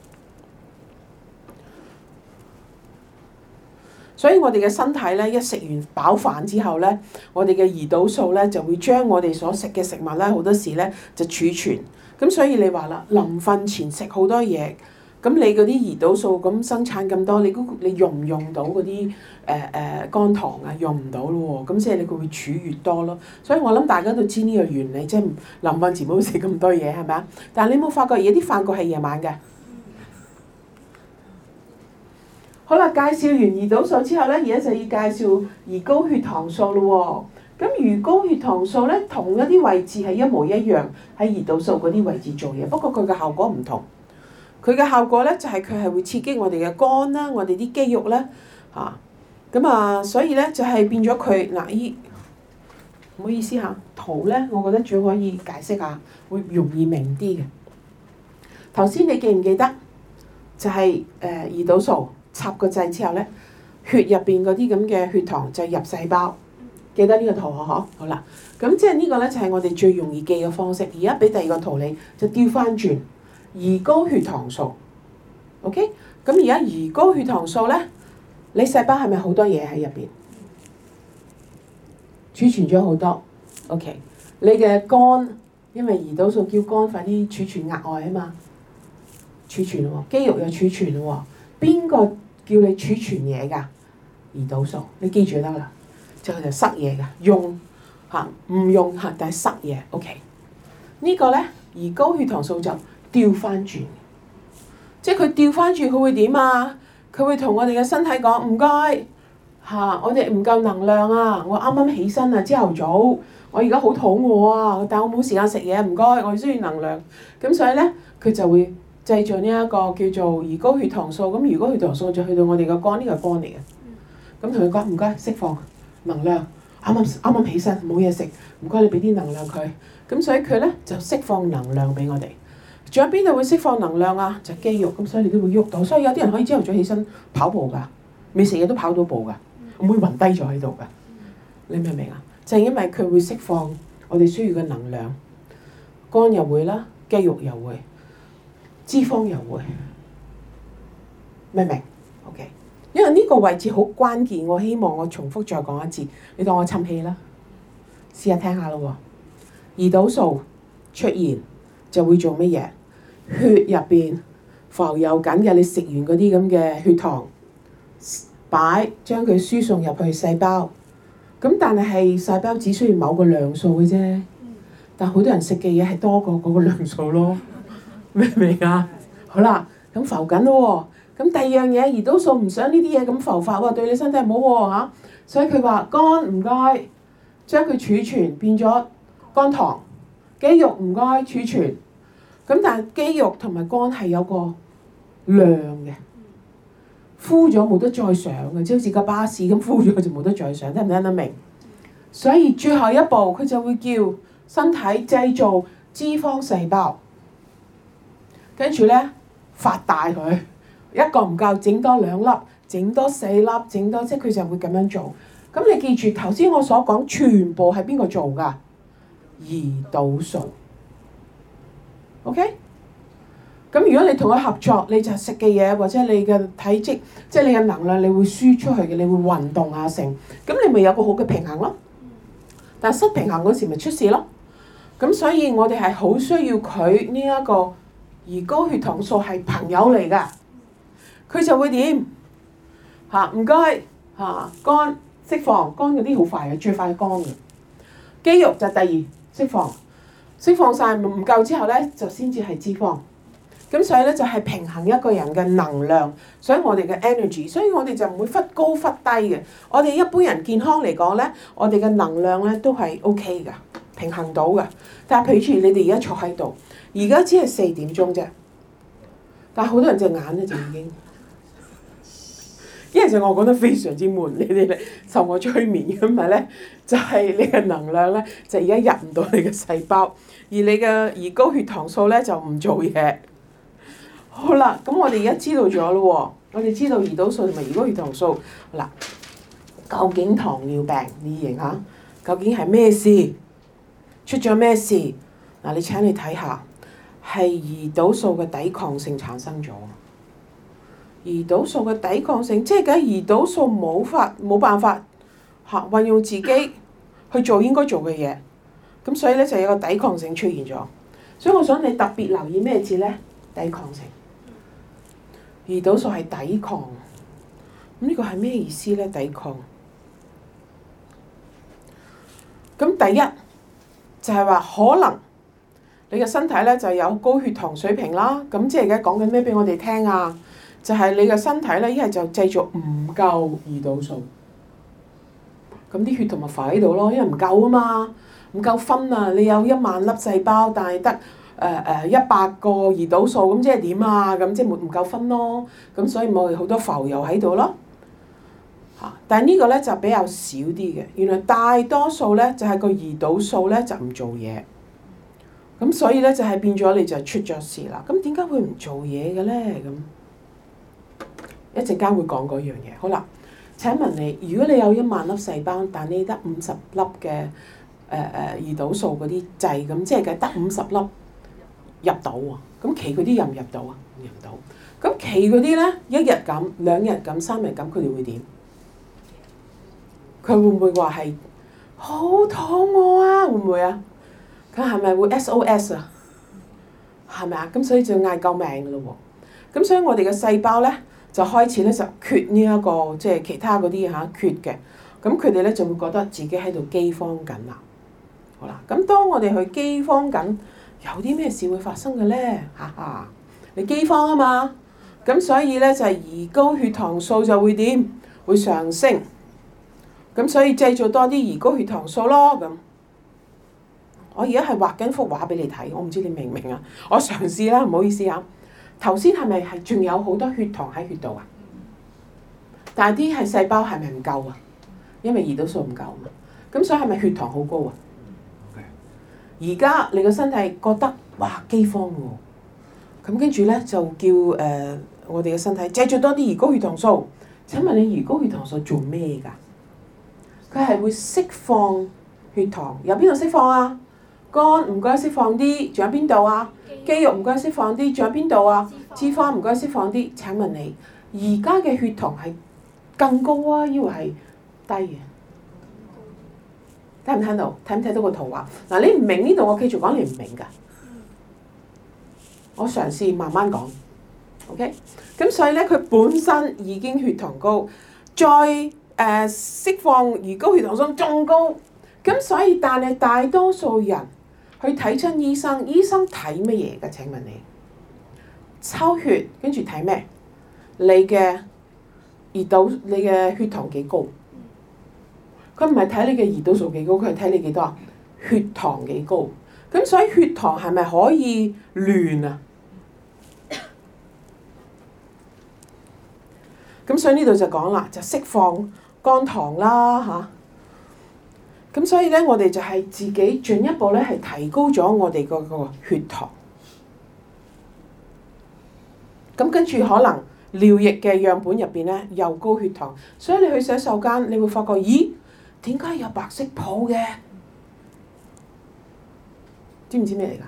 所以我哋嘅身體咧，一食完飽飯之後咧，我哋嘅胰島素咧就會將我哋所食嘅食物咧，好多時咧就儲存。咁所以你話啦，臨瞓前食好多嘢，咁你嗰啲胰島素咁生產咁多，你你用唔用到嗰啲誒誒肝糖啊？用唔到咯喎，咁即係你佢會儲越多咯。所以我諗大家都知呢個原理，即係臨瞓前唔好食咁多嘢，係咪啊？但係你冇發覺而家啲飯局係夜晚嘅？好啦，介紹完胰島素之後咧，而家就要介紹胰高血糖素咯喎。咁胰高血糖素咧，同一啲位置係一模一樣，喺胰島素嗰啲位置做嘢，不過佢嘅效果唔同。佢嘅效果咧就係佢係會刺激我哋嘅肝啦，我哋啲肌肉咧嚇。咁啊，所以咧就係變咗佢嗱依，唔好意思嚇，圖咧我覺得最可以解釋下，會容易明啲嘅。頭先你記唔記得？就係誒胰島素。插個掣之後咧，血入邊嗰啲咁嘅血糖就入細胞，記得呢個圖嗬？好啦，咁即係呢個咧就係我哋最容易記嘅方式。而家俾第二個圖你，就調翻轉胰高血糖素。OK，咁而家胰高血糖素咧，你細胞係咪好多嘢喺入邊？儲存咗好多。OK，你嘅肝，因為胰島素叫肝快啲儲存額外啊嘛，儲存喎，肌肉又儲存喎。邊個叫你儲存嘢㗎？胰島素，你記住得啦，就係就塞嘢㗎，用嚇唔用嚇，但係塞嘢。OK，呢個咧胰高血糖素就調翻轉，即係佢調翻轉，佢會點啊？佢會同我哋嘅身體講唔該嚇，我哋唔夠能量啊！我啱啱起身啊，朝頭早，我而家好肚餓啊，但我冇時間食嘢，唔該，我需要能量。咁所以咧，佢就會製造呢一個叫做胰高血糖素，咁胰高血糖素就去到我哋個肝，呢個係肝嚟嘅。咁同佢講唔該，釋放能量，啱啱啱啱起身冇嘢食，唔該你俾啲能量佢。咁所以佢咧就釋放能量俾我哋。 仲有邊度會釋放能量啊？就係肌肉，咁所以你都會喐到。所以有啲人可以朝頭早起身跑步㗎，未食嘢都跑到步㗎，唔會暈低咗喺度㗎。你明唔明啊？就係因為佢會釋放我哋需要嘅能量，肝又會啦，肌肉又會，脂肪又會，明唔明 ？OK， 因為呢個位置好關鍵，我希望我重複再講一次，你當我氹氣啦，試下聽下咯喎。胰島素出現就會做乜嘢？血入邊浮游緊嘅，你食完嗰啲咁嘅血糖，擺將佢輸送入去細胞。咁但係係細胞只需要某個量數嘅啫，但好多人食嘅嘢係多過嗰個量數咯，明唔明啊？好啦，咁浮緊咯喎，咁第二樣嘢胰島素唔想呢啲嘢咁浮發喎，對你身體唔好喎嚇，所以佢話肝唔該將佢儲存變咗肝糖，肌肉唔該儲存，咁但係肌肉同埋肝係有個量嘅。敷咗冇得再上嘅，即好似架巴士咁敷咗就冇得再上，聽唔聽得明？所以最後一步佢就會叫身體製造脂肪細胞，跟住咧發大佢，一個唔夠整多兩粒，整多四粒，整多即係佢就會咁樣做。咁你記住頭先我所講全部係邊個做㗎？胰島素 ，OK？咁如果你同佢合作，你就食嘅嘢或者你嘅體積，即係你嘅能量，你會輸出去嘅，你會運動啊成，咁你咪有個好嘅平衡咯。但係失平衡嗰時咪出事咯。咁所以我哋係好需要佢呢一個胰高血糖素係朋友嚟㗎，佢就會點嚇？唔該嚇，肝釋放，肝嗰啲好快嘅，最快肝嘅。肌肉就第二釋放，釋放晒唔夠之後咧，就先至係脂肪。咁所以咧就係平衡一個人嘅能量，所以我哋嘅 energy， 所以我哋就唔會忽高忽低嘅。我哋一般人健康嚟講咧，我哋嘅能量咧都係 OK 㗎，平衡到㗎。但係譬如你哋而家坐喺度，而家只係四點鐘啫，但係好多人隻眼咧就已經，因為就我講得非常之悶，你哋咧受我催眠咁咪咧，就係你嘅能量咧就而家入唔到你嘅細胞，而你嘅胰高血糖素咧就唔做嘢。好啦，咁我哋而家知道咗咯喎，我哋知道胰島素同埋胰高血糖素，好啦，究竟糖尿病你認下，究竟係咩事？出咗咩事？嗱，你請你睇下，係胰島素嘅抵抗性產生咗。胰島素嘅抵抗性，即係梗係胰島素冇法冇辦法嚇運用自己去做應該做嘅嘢，咁所以咧就有個抵抗性出現咗。所以我想你特別留意咩字咧？抵抗性。胰島素係抵抗，咁呢個係咩意思咧？抵抗，咁第一就係話可能你嘅身體咧就有高血糖水平啦，咁即係而家講緊咩俾我哋聽啊？就係你嘅身體咧一係就製造唔夠胰島素，咁啲血同咪浮喺度咯，因為唔夠啊嘛，唔夠分啊！你有一萬粒細胞，但係得誒誒一百個胰島素，咁即係點啊？咁即係冇唔夠分咯，咁所以咪好多浮油喺度咯。嚇！但係呢個咧就比較少啲嘅，原來大多數咧就係個胰島素咧就唔做嘢，咁所以咧就係變咗你就出咗事啦。咁點解會唔做嘢嘅咧？咁一陣間會講嗰樣嘢。好啦，請問你，如果你有一萬粒細胞，但你得五十粒嘅誒誒胰島素嗰啲掣，咁即係嘅得五十粒入到喎，咁其嗰啲入唔入到啊？入唔到。咁其嗰啲咧，一日咁、兩日咁、三日咁，佢哋會點？佢會唔會話係好肚餓啊？會唔會啊？佢係咪會 S O S 啊？係咪啊？咁所以就嗌救命㗎咯喎！咁所以我哋嘅細胞咧就開始咧就缺呢、這、一個即係其他嗰啲嚇缺嘅，咁佢哋咧就會覺得自己喺度饑荒緊啦。好啦，咁當我哋去饑荒緊，有啲咩事會發生嘅咧？哈哈，你饑荒啊嘛，咁所以咧就係胰高血糖素就會點？會上升。咁所以製造多啲胰高血糖素咯。咁我而家係畫緊幅畫俾你睇，我唔知你明唔明啊？我嘗試啦，唔好意思啊。頭先係咪係仲有好多血糖喺血度啊？但係啲係細胞係咪唔夠啊？因為胰島素唔夠啊嘛。咁所以係咪血糖好高啊？而家你個身體覺得哇饑荒喎， 咁跟住咧就叫誒、呃、我哋嘅身體製造多啲胰高血糖素。請問你胰高血糖素做咩㗎？佢係會釋放血糖，由邊度釋放啊？肝唔該釋放啲，仲有邊度啊？肌肉唔該釋放啲，仲有邊度啊？脂肪唔該釋放啲。請問你而家嘅血糖係更高啊，抑或係低嘅？聽唔聽到？睇唔睇到個圖畫？嗱，你唔明呢度，我繼續講，你唔明㗎。我嘗試慢慢講 ，OK？咁所以咧，佢本身已經血糖高，再誒、呃、釋放胰高血糖素仲高，咁所以但係大多數人去睇親醫生，醫生睇乜嘢㗎？請問你抽血跟住睇咩？你嘅胰島，你嘅血糖幾高？佢唔係睇你嘅胰島素幾高，佢係睇你幾多啊？血糖幾高？咁所以血糖係咪可以亂啊？咁所以呢度就講啦，就釋放肝糖啦嚇。咁所以咧，我哋就係自己進一步咧係提高咗我哋嗰個血糖。咁跟住可能尿液嘅樣本入邊咧又高血糖，所以你去洗手間，你會發覺，咦，點解有白色泡嘅？知唔知咩嚟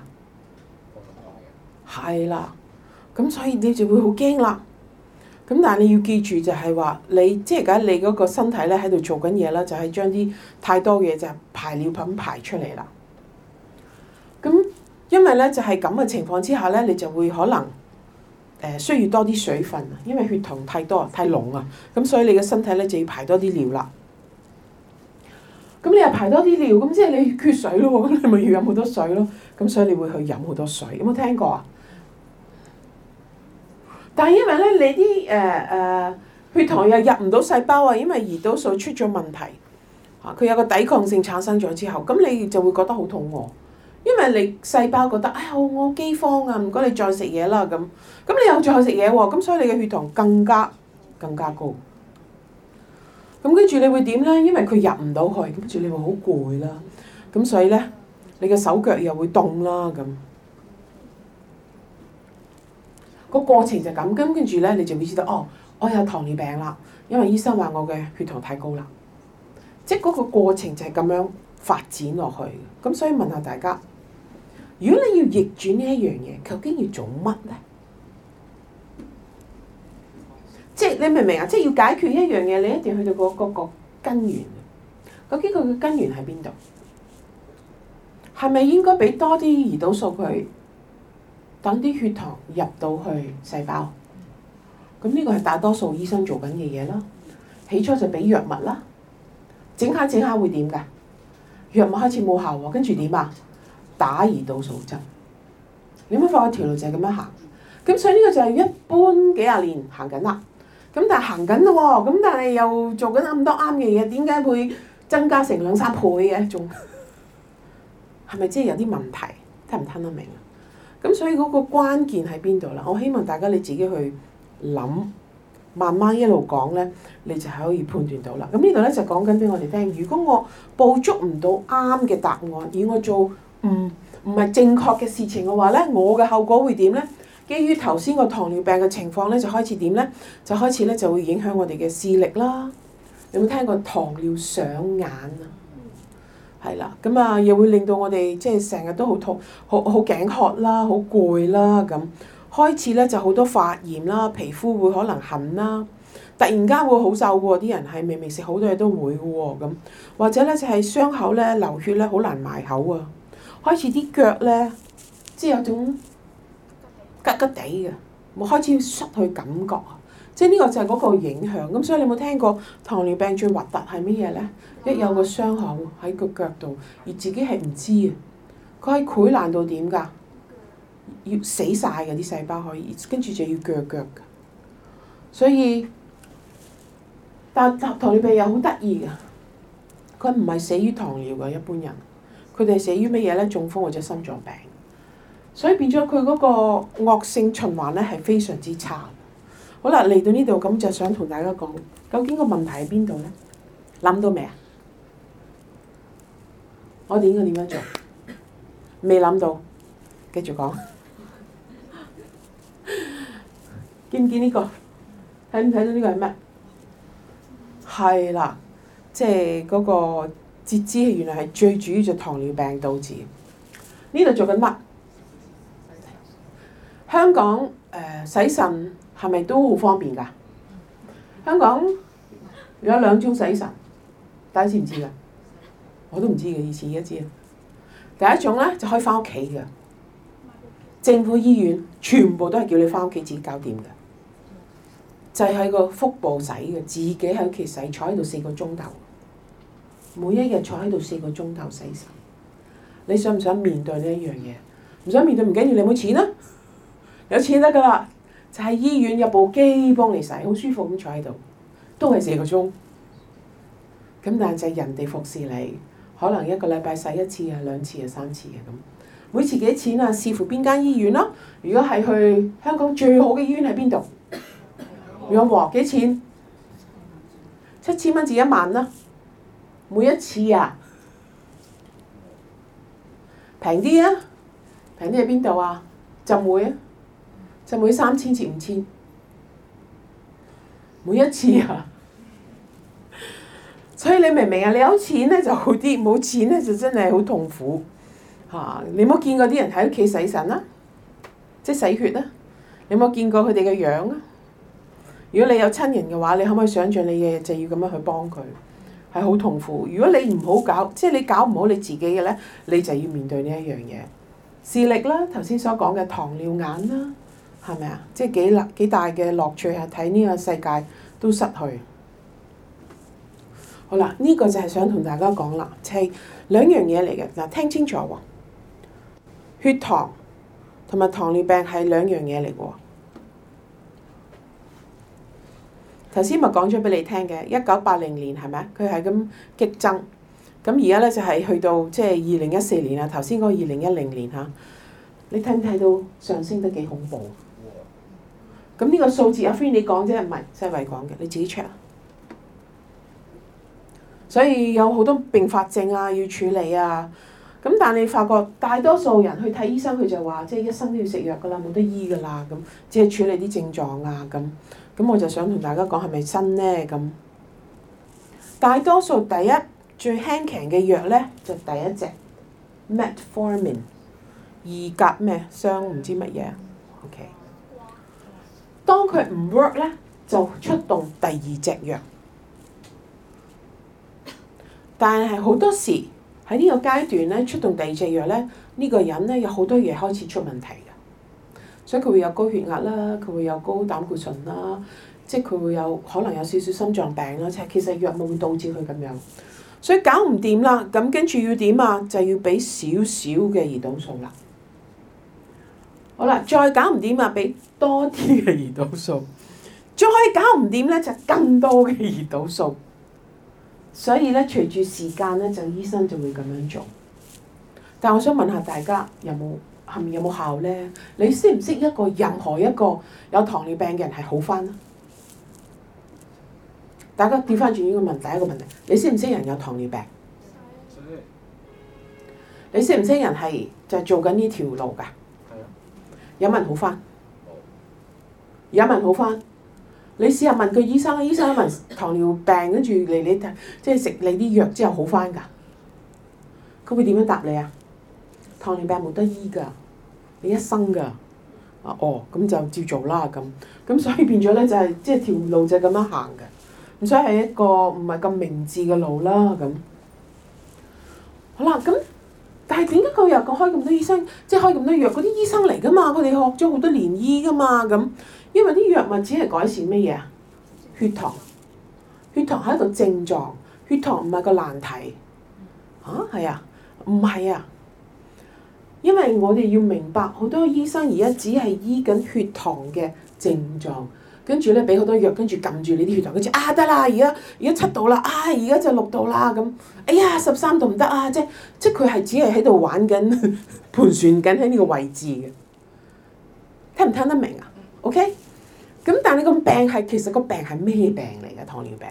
㗎？係啦，咁所以你就會好驚啦。咁但係你要記住就係話，你即係而家你嗰個身體咧喺度做緊嘢啦，就係將啲太多嘢就排尿品排出嚟啦。咁因為咧就係咁嘅情況之下咧，你就會可能誒需要多啲水分啊，因為血糖太多太濃啊，咁所以你嘅身體咧就要排多啲尿啦。咁你又排多啲尿，咁即係你缺水咯喎，咁你咪要飲好多水咯。咁所以你會去飲好多水，有冇聽過啊？但係因為咧，你啲誒誒血糖又入唔到細胞啊，因為胰島素出咗問題，嚇佢有個抵抗性產生咗之後，咁你就會覺得好肚餓，因為你細胞覺得哎呀我饑荒啊，唔該你再食嘢啦咁，咁你又再食嘢喎，咁所以你嘅血糖更加更加高。咁跟住你會點咧？因為佢入唔到去，跟住你會好攰啦，咁所以咧你嘅手腳又會凍啦咁。個過程就咁，咁跟住咧，你就會知道哦，我有糖尿病啦，因為醫生話我嘅血糖太高啦。即係嗰個過程就係咁樣發展落去。咁所以問下大家，如果你要逆轉呢一樣嘢，究竟要做乜咧？即係你明唔明啊？即係要解決一樣嘢，你一定要去到嗰嗰個根源。究竟佢嘅根源喺邊度？係咪應該俾多啲胰島素佢？等啲血糖入到去細胞，咁呢個係大多數醫生做緊嘅嘢啦。起初就俾藥物啦，整下整下會點㗎？藥物開始冇效喎，跟住點啊？打胰島素針。你有冇發覺條路就係咁樣行？咁所以呢個就係一般幾廿年行緊啦。咁但係行緊咯喎，咁但係又做緊咁多啱嘅嘢，點解會增加成兩三倍嘅？仲係咪即係有啲問題？聽唔聽得明啊？咁所以嗰個關鍵喺邊度啦？我希望大家你自己去諗，慢慢一路講咧，你就係可以判斷到啦。咁呢度咧就講緊俾我哋聽，如果我捕捉唔到啱嘅答案，而我做唔唔係正確嘅事情嘅話咧，我嘅後果會點咧？基於頭先個糖尿病嘅情況咧，就開始點咧？就開始咧就會影響我哋嘅視力啦。有冇聽過糖尿上眼啊？係啦，咁啊又會令到我哋即係成日都好痛、好好頸渴啦、好攰啦咁。開始咧就好多發炎啦，皮膚會可能痕啦，突然間會好瘦喎，啲人係明明食好多嘢都會嘅喎咁。或者咧就係傷口咧流血咧好難埋口啊。開始啲腳咧即係有種吉吉地嘅，冇開始失去感覺啊。即係呢個就係嗰個影響。咁所以你有冇聽過糖尿病最核突係乜嘢咧？一有個傷口喺個腳度，而自己係唔知啊！佢係潰爛到點㗎？要死晒㗎啲細胞可以，跟住就要鋸腳㗎。所以，但糖尿病又好得意㗎，佢唔係死於糖尿㗎，一般人，佢哋係死於乜嘢咧？中風或者心臟病。所以變咗佢嗰個惡性循環咧係非常之差。好啦，嚟到呢度咁就想同大家講，究竟個問題喺邊度咧？諗到未啊？我哋應該點樣做？未諗到，繼續講。 見唔見呢個？睇唔睇到呢個係咩？係啦，即係嗰個截肢原來係最主要就糖尿病導致。呢度做緊乜？香港誒、呃、洗腎係咪都好方便㗎？香港有兩種洗腎，大家知唔知㗎？我都唔知嘅，以前而家知啊。第一種咧就可以翻屋企嘅，政府醫院全部都係叫你翻屋企自己搞掂嘅，就係、是、喺個腹部洗嘅，自己喺屋企洗，坐喺度四個鐘頭，每一日坐喺度四個鐘頭洗腎。你想唔想面對呢一樣嘢？唔想面對唔緊要，你有冇錢啊？有錢得噶啦，就喺醫院有部機幫你洗，好舒服咁坐喺度，都係四個鐘。咁但係就係人哋服侍你，可能一個禮拜洗一次啊、兩次啊、三次啊咁。每次幾多錢啊？視乎邊間醫院咯。如果係去香港最好嘅醫院喺邊度？養和幾錢？七千蚊至一萬啦。每一次啊，平啲啊，平啲喺邊度啊？浸會啊，浸會三千至五千，每一次啊。所以你明唔明啊？你有錢咧就好啲，冇錢咧就真係好痛苦嚇。你冇見過啲人喺屋企洗腎啊？即係洗血啊？你有冇見過佢哋嘅樣啊？如果你有親人嘅話，你可唔可以想像你嘅就要咁樣去幫佢？係好痛苦。如果你唔好搞，即係你搞唔好你自己嘅咧，你就要面對呢一樣嘢。視力啦，頭先所講嘅糖尿眼啦，係咪啊？即係幾大幾大嘅樂趣係睇呢個世界都失去。好啦，呢個就係想同大家講啦，係兩樣嘢嚟嘅嗱，聽清楚喎。血糖同埋糖尿病係兩樣嘢嚟嘅喎。頭先咪講咗俾你聽嘅，一九八零年係咪啊？佢係咁激增，咁而家咧就係去到即係二零一四年啦。頭先嗰個二零一零年嚇，你睇唔睇到上升得幾恐怖？咁呢個數字阿 Free 你講啫，唔係世衞講嘅，你自己 check。所以有好多併發症啊，要處理啊。咁但係你發覺大多數人去睇醫生，佢就話即係一生都要食藥噶啦，冇得醫噶啦咁，只係處理啲症狀啊咁。咁我就想同大家講係咪真咧咁？大多數第一最輕強嘅藥咧就第一隻 Metformin 二甲咩雙唔知乜嘢 OK。當佢唔 work 咧，就出動第二隻藥。但係好多時喺呢個階段咧，出動第二隻藥咧，呢個人咧有好多嘢開始出問題嘅，所以佢會有高血壓啦，佢會有高膽固醇啦，即係佢會有可能有少少心臟病啦，即係其實藥物會導致佢咁樣，所以搞唔掂啦，咁跟住要點啊？就要俾少少嘅胰島素啦。好啦，再搞唔掂啊，俾多啲嘅胰島素，再搞唔掂咧就更多嘅胰島素。所以咧，隨住時間咧，就醫生就會咁樣做。但我想問下大家，有冇係咪有冇效咧？你識唔識一個任何一個有糖尿病嘅人係好返啊？大家調翻轉呢個問第一個問題，你識唔識人有糖尿病？你識唔識人係就係做緊呢條路㗎？有冇人好返？有冇人好返？你試下問個醫生，醫生問糖尿病跟住嚟你睇，即係食你啲藥之後好返㗎？佢會點樣答你啊？糖尿病冇得醫㗎，你一生㗎。啊哦，咁就照做啦咁。咁所以變咗咧就係即係條路就係咁樣行嘅。咁所以係一個唔係咁明智嘅路啦咁。好啦，咁但係點解佢又講開咁多醫生，即係開咁多藥？嗰啲醫生嚟㗎嘛，佢哋學咗好多年醫㗎嘛咁。因為啲藥物只係改善乜嘢啊？血糖，血糖係一個症狀，血糖唔係個難題。嚇係啊？唔係啊？因為我哋要明白，好多醫生而家只係醫緊血糖嘅症狀，跟住咧俾好多藥，跟住撳住你啲血糖，跟住啊得啦，而家而家七度啦，啊而家就六度啦咁，哎呀十三度唔得啊！即即佢係只係喺度玩緊盤旋緊喺呢個位置嘅，聽唔聽得明啊？OK， 咁但係你個病係其實個病係咩病嚟㗎？糖尿病，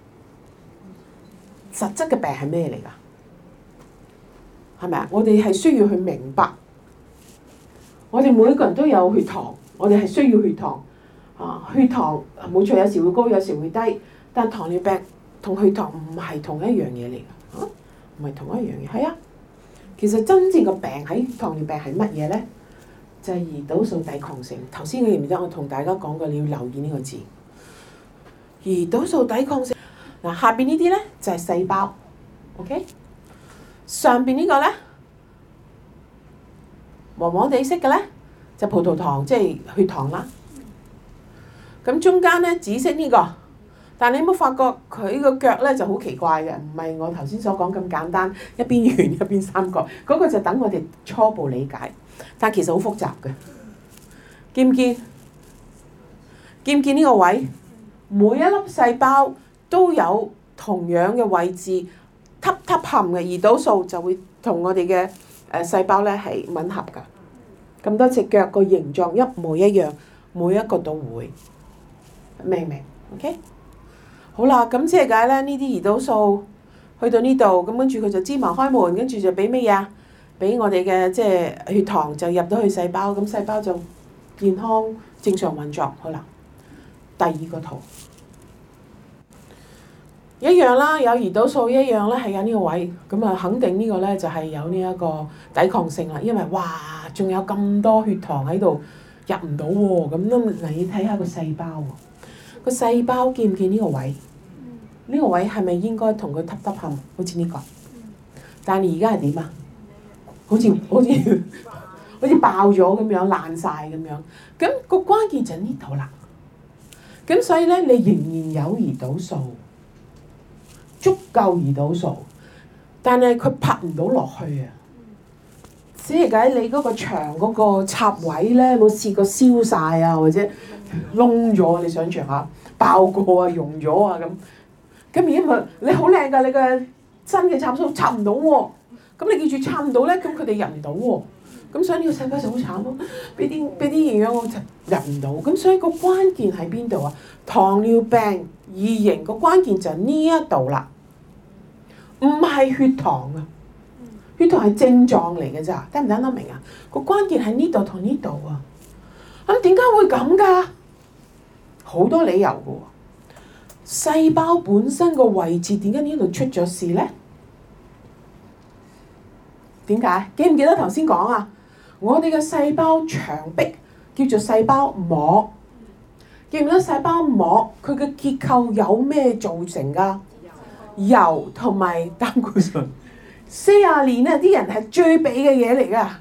實質嘅病係咩嚟㗎？係咪啊？我哋係需要去明白，我哋每一個人都有血糖，我哋係需要血糖啊，血糖冇錯，有時會高，有時會低，但糖尿病同血糖唔係同一樣嘢嚟㗎，嚇，唔係同一樣嘢。係啊，其實真正個病喺糖尿病係乜嘢咧？就係胰島素抵抗性。頭先你記唔記得我同大家講過，你要留意呢個字。胰島素抵抗性嗱，下邊呢啲咧就係細胞 ，OK？ 上邊呢個咧黃黃地色嘅咧就葡萄糖，即係血糖啦。咁中間咧紫色呢個，但你有冇發覺佢個腳咧就好奇怪嘅？唔係我頭先所講咁簡單，一邊圓一邊三角，嗰個就等我哋初步理解。但其實好複雜嘅，見唔見？見唔見呢個位？每一粒細胞都有同樣嘅位置，凸凸含嘅胰島素就會同我哋嘅誒細胞咧係吻合㗎。咁多隻腳個形狀一模一樣，每一個都會，明唔明 ？OK？ 好啦，咁即係解咧，呢啲胰島素去到呢度，咁跟住佢就芝麻開門，跟住就俾乜嘢啊？俾我哋嘅即係血糖就入到去細胞，咁細胞就健康正常運作。好啦，第二個圖一樣啦，有胰島素一樣咧，係有呢個位，咁啊肯定呢個咧就係有呢一個抵抗性啦。因為哇，仲有咁多血糖喺度入唔到喎，咁都你睇下個細胞喎，個細胞見唔見呢個位？呢個位係咪應該同佢凸凸冚？好似呢個，但係而家係點啊？好似好似好似爆咗咁樣，爛晒咁樣。咁個關鍵就喺呢度啦。咁所以咧，你仍然有胰島素，足夠胰島素，但係佢拍唔到落去啊！只係解你嗰個腸嗰個插位咧，冇試過燒晒啊，或者窿咗？你想象下，爆過啊，溶咗啊咁。咁而家咪你好靚㗎，你個新嘅插數插唔到喎。咁你記住插唔到咧，咁佢哋入唔到喎。咁所以呢個細胞就好慘咯，俾啲俾啲營養我就入唔到。咁所以個關鍵喺邊度啊？糖尿病二型個關鍵就係呢一度啦，唔係血糖啊，血糖係症狀嚟嘅咋，聽唔聽得明啊？個關鍵喺呢度同呢度啊。咁點解會咁㗎？好多理由嘅喎。細胞本身個位置點解呢度出咗事咧？點解？記唔記得頭先講啊？我哋嘅細胞牆壁叫做細胞膜，記唔記得細胞膜佢嘅結構有咩造成㗎？油同埋膽固醇。四十年啊，啲人係最避嘅嘢嚟㗎，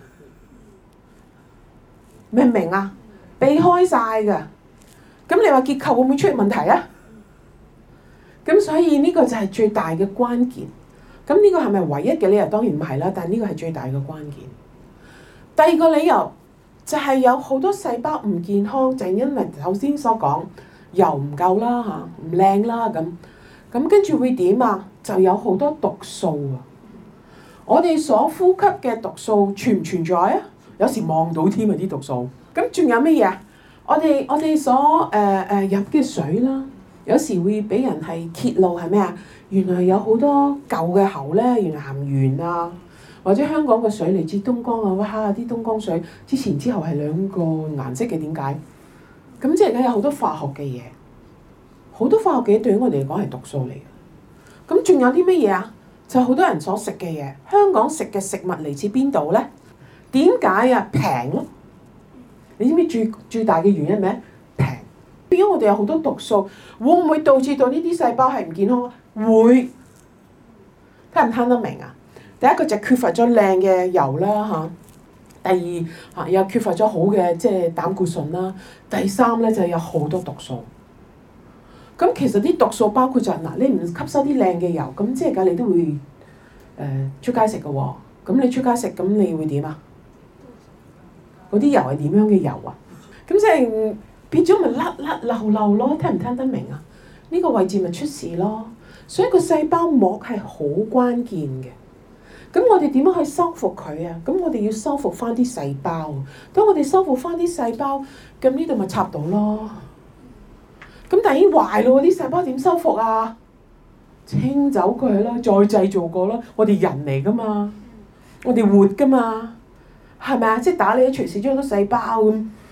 明唔明啊？避開晒㗎。咁你話結構會唔會出現問題啊？咁所以呢個就係最大嘅關鍵。咁呢個係咪唯一嘅理由？當然唔係啦，但係呢個係最大嘅關鍵。第二個理由就係有好多細胞唔健康，就係因為頭先所講油唔夠啦嚇，唔靚啦咁。咁跟住會點啊？就有好多毒素啊！我哋所呼吸嘅毒素存唔存在啊？有時望到添啊啲毒素。咁仲有乜嘢啊？我哋我哋所誒誒飲嘅水啦，有時會俾人係揭露係咩啊？原來有好多舊嘅喉咧，原來含鉛啊，或者香港嘅水嚟自東江啊，哇！啲東江水之前之後係兩個顏色嘅，點解？咁即係咧有好多化學嘅嘢，好多化學嘅嘢對於我哋嚟講係毒素嚟嘅。咁仲有啲乜嘢啊？就好多人所食嘅嘢，香港食嘅食物嚟自邊度咧？點解啊？平咯！你知唔知最最大嘅原因咩？平。變咗我哋有好多毒素，會唔會導致到呢啲細胞係唔健康啊？會。聽唔聽得明啊？第一個就缺乏咗靚嘅油啦嚇，第二嚇又缺乏咗好嘅即係膽固醇啦，第三咧就有好多毒素。咁其實啲毒素包括就係嗱，你唔吸收啲靚嘅油，咁即係㗎，你都會誒、呃、出街食嘅喎。咁你出街食，咁你會點啊？嗰啲油係點樣嘅油啊？咁即係變咗咪甩甩漏漏咯？聽唔聽得明啊？呢個位置咪出事咯。所以個細胞膜係好關鍵嘅。咁我哋點樣去修復佢啊？咁我哋要修復翻啲細胞。當我哋修復翻啲細胞，咁呢度咪插到咯。咁但係已經壞咯，啲細胞點修復啊？清走佢啦，再製造過啦。我哋人嚟噶嘛，我哋活噶嘛，係咪啊？即係打你一錘死咗好多細胞咁，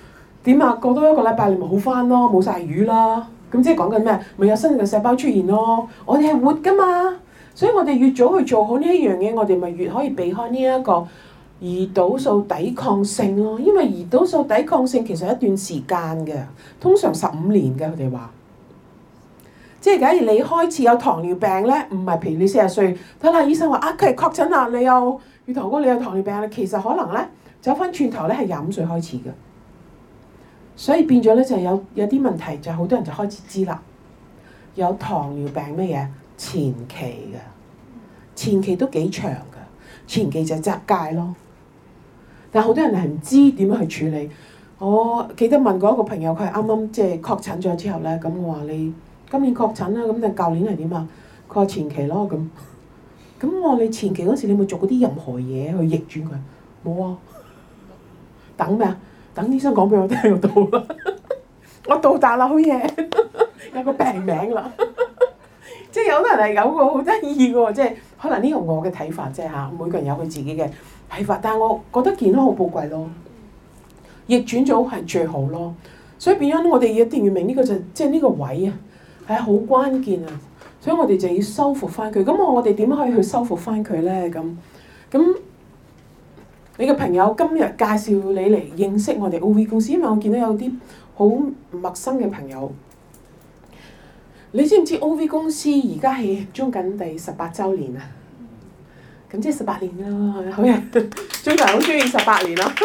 點啊？過多一個禮拜你咪好翻咯，冇晒魚啦。咁即係講緊咩？咪有新嘅細胞出現咯。我哋係活噶嘛，所以我哋越早去做好呢一樣嘢，我哋咪越可以避開呢一個胰島素抵抗性咯。因為胰島素抵抗性其實係一段時間嘅，通常十五年嘅佢哋話。即係假如你開始有糖尿病咧，唔係譬如你四十歲，睇下醫生話啊佢係確診啦，你有血糖高，你有糖尿病咧，其實可能咧走翻轉頭咧係廿五歲開始嘅。所以變咗咧就有有啲問題，就好多人就開始知啦。有糖尿病乜嘢前期嘅，前期都幾長嘅，前期就側界咯。但係好多人係唔知點樣去處理。我記得問過一個朋友，佢係啱啱即係確診咗之後咧，咁我話你今年確診啦，咁就舊年係點啊？佢話前期咯咁。咁我話你前期嗰時你有冇做過啲任何嘢去逆轉佢？冇啊。等咩啊？等醫生講俾我聽就到啦。我到達啦，好嘢，有個病名啦。即係有啲人係有個好得意嘅喎，即係可能呢個我嘅睇法啫嚇，每個人有佢自己嘅睇法。但係我覺得健康好寶貴咯，逆轉咗係最好咯。所以變咗我哋一定要明呢個就即係呢個位啊，係好關鍵啊。所以我哋就要修復翻佢。咁我我哋點可以去修復翻佢咧？咁咁。你嘅朋友今日介紹你嚟認識我哋 O V 公司，因為我見到有啲好陌生嘅朋友。你知唔知 O V 公司而家係中緊第十八週年啊？咁即係十八年啦，好呀！中國人好中意十八年啦。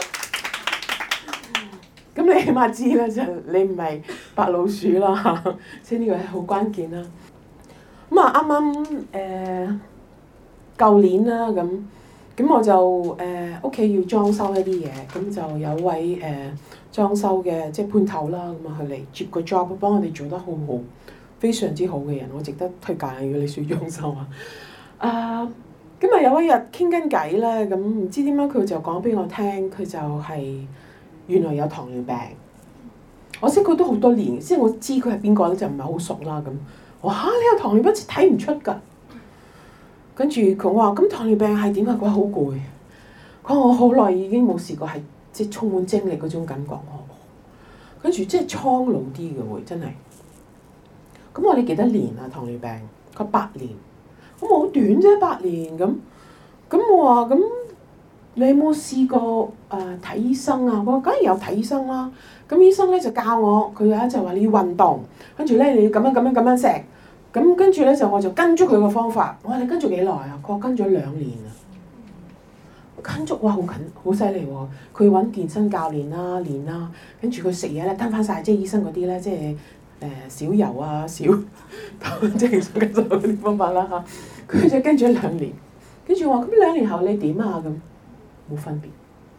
咁你起碼知啦，就你唔係白老鼠啦，即係呢個係好關鍵啦。咁啊，啱啱誒舊年啦咁。咁我就誒屋企要裝修一啲嘢，咁就有位誒、呃、裝修嘅即係判頭啦，咁啊佢嚟接個 job，幫我哋做得好好，非常之好嘅人，我值得推介。如果你需要裝修啊，啊咁啊有一日傾緊偈咧，咁唔知點解佢就講俾我聽，佢就係原來有糖尿病。我識佢都好多年，即係我知佢係邊個咧，就唔係好熟啦咁。我話嚇你有糖尿病，睇唔出㗎。跟住佢話：咁糖尿病係點啊？佢話好攰。佢話我好耐已經冇試過係即係充滿精力嗰種感覺。跟住即係蒼老啲嘅會真係。咁我哋幾多年啊？糖尿病？佢八年。咁好短啫，八年咁。咁我話咁你有冇試過誒睇、呃、醫生啊？我話梗係有睇醫生啦。咁醫生咧就教我，佢咧就話你要運動，跟住咧你要咁樣咁樣咁樣食。咁跟住咧就我就跟足佢個方法。我話你跟咗幾耐啊？佢話跟咗兩年啊。跟足哇好緊好犀利喎！佢揾健身教練啦練啦，跟住佢食嘢咧跟翻晒，即係醫生嗰啲咧，即係誒、呃、少油啊少，即係跟咗嗰啲方法啦嚇。佢就跟咗兩年，跟住我話咁兩年後你點啊？咁冇分別。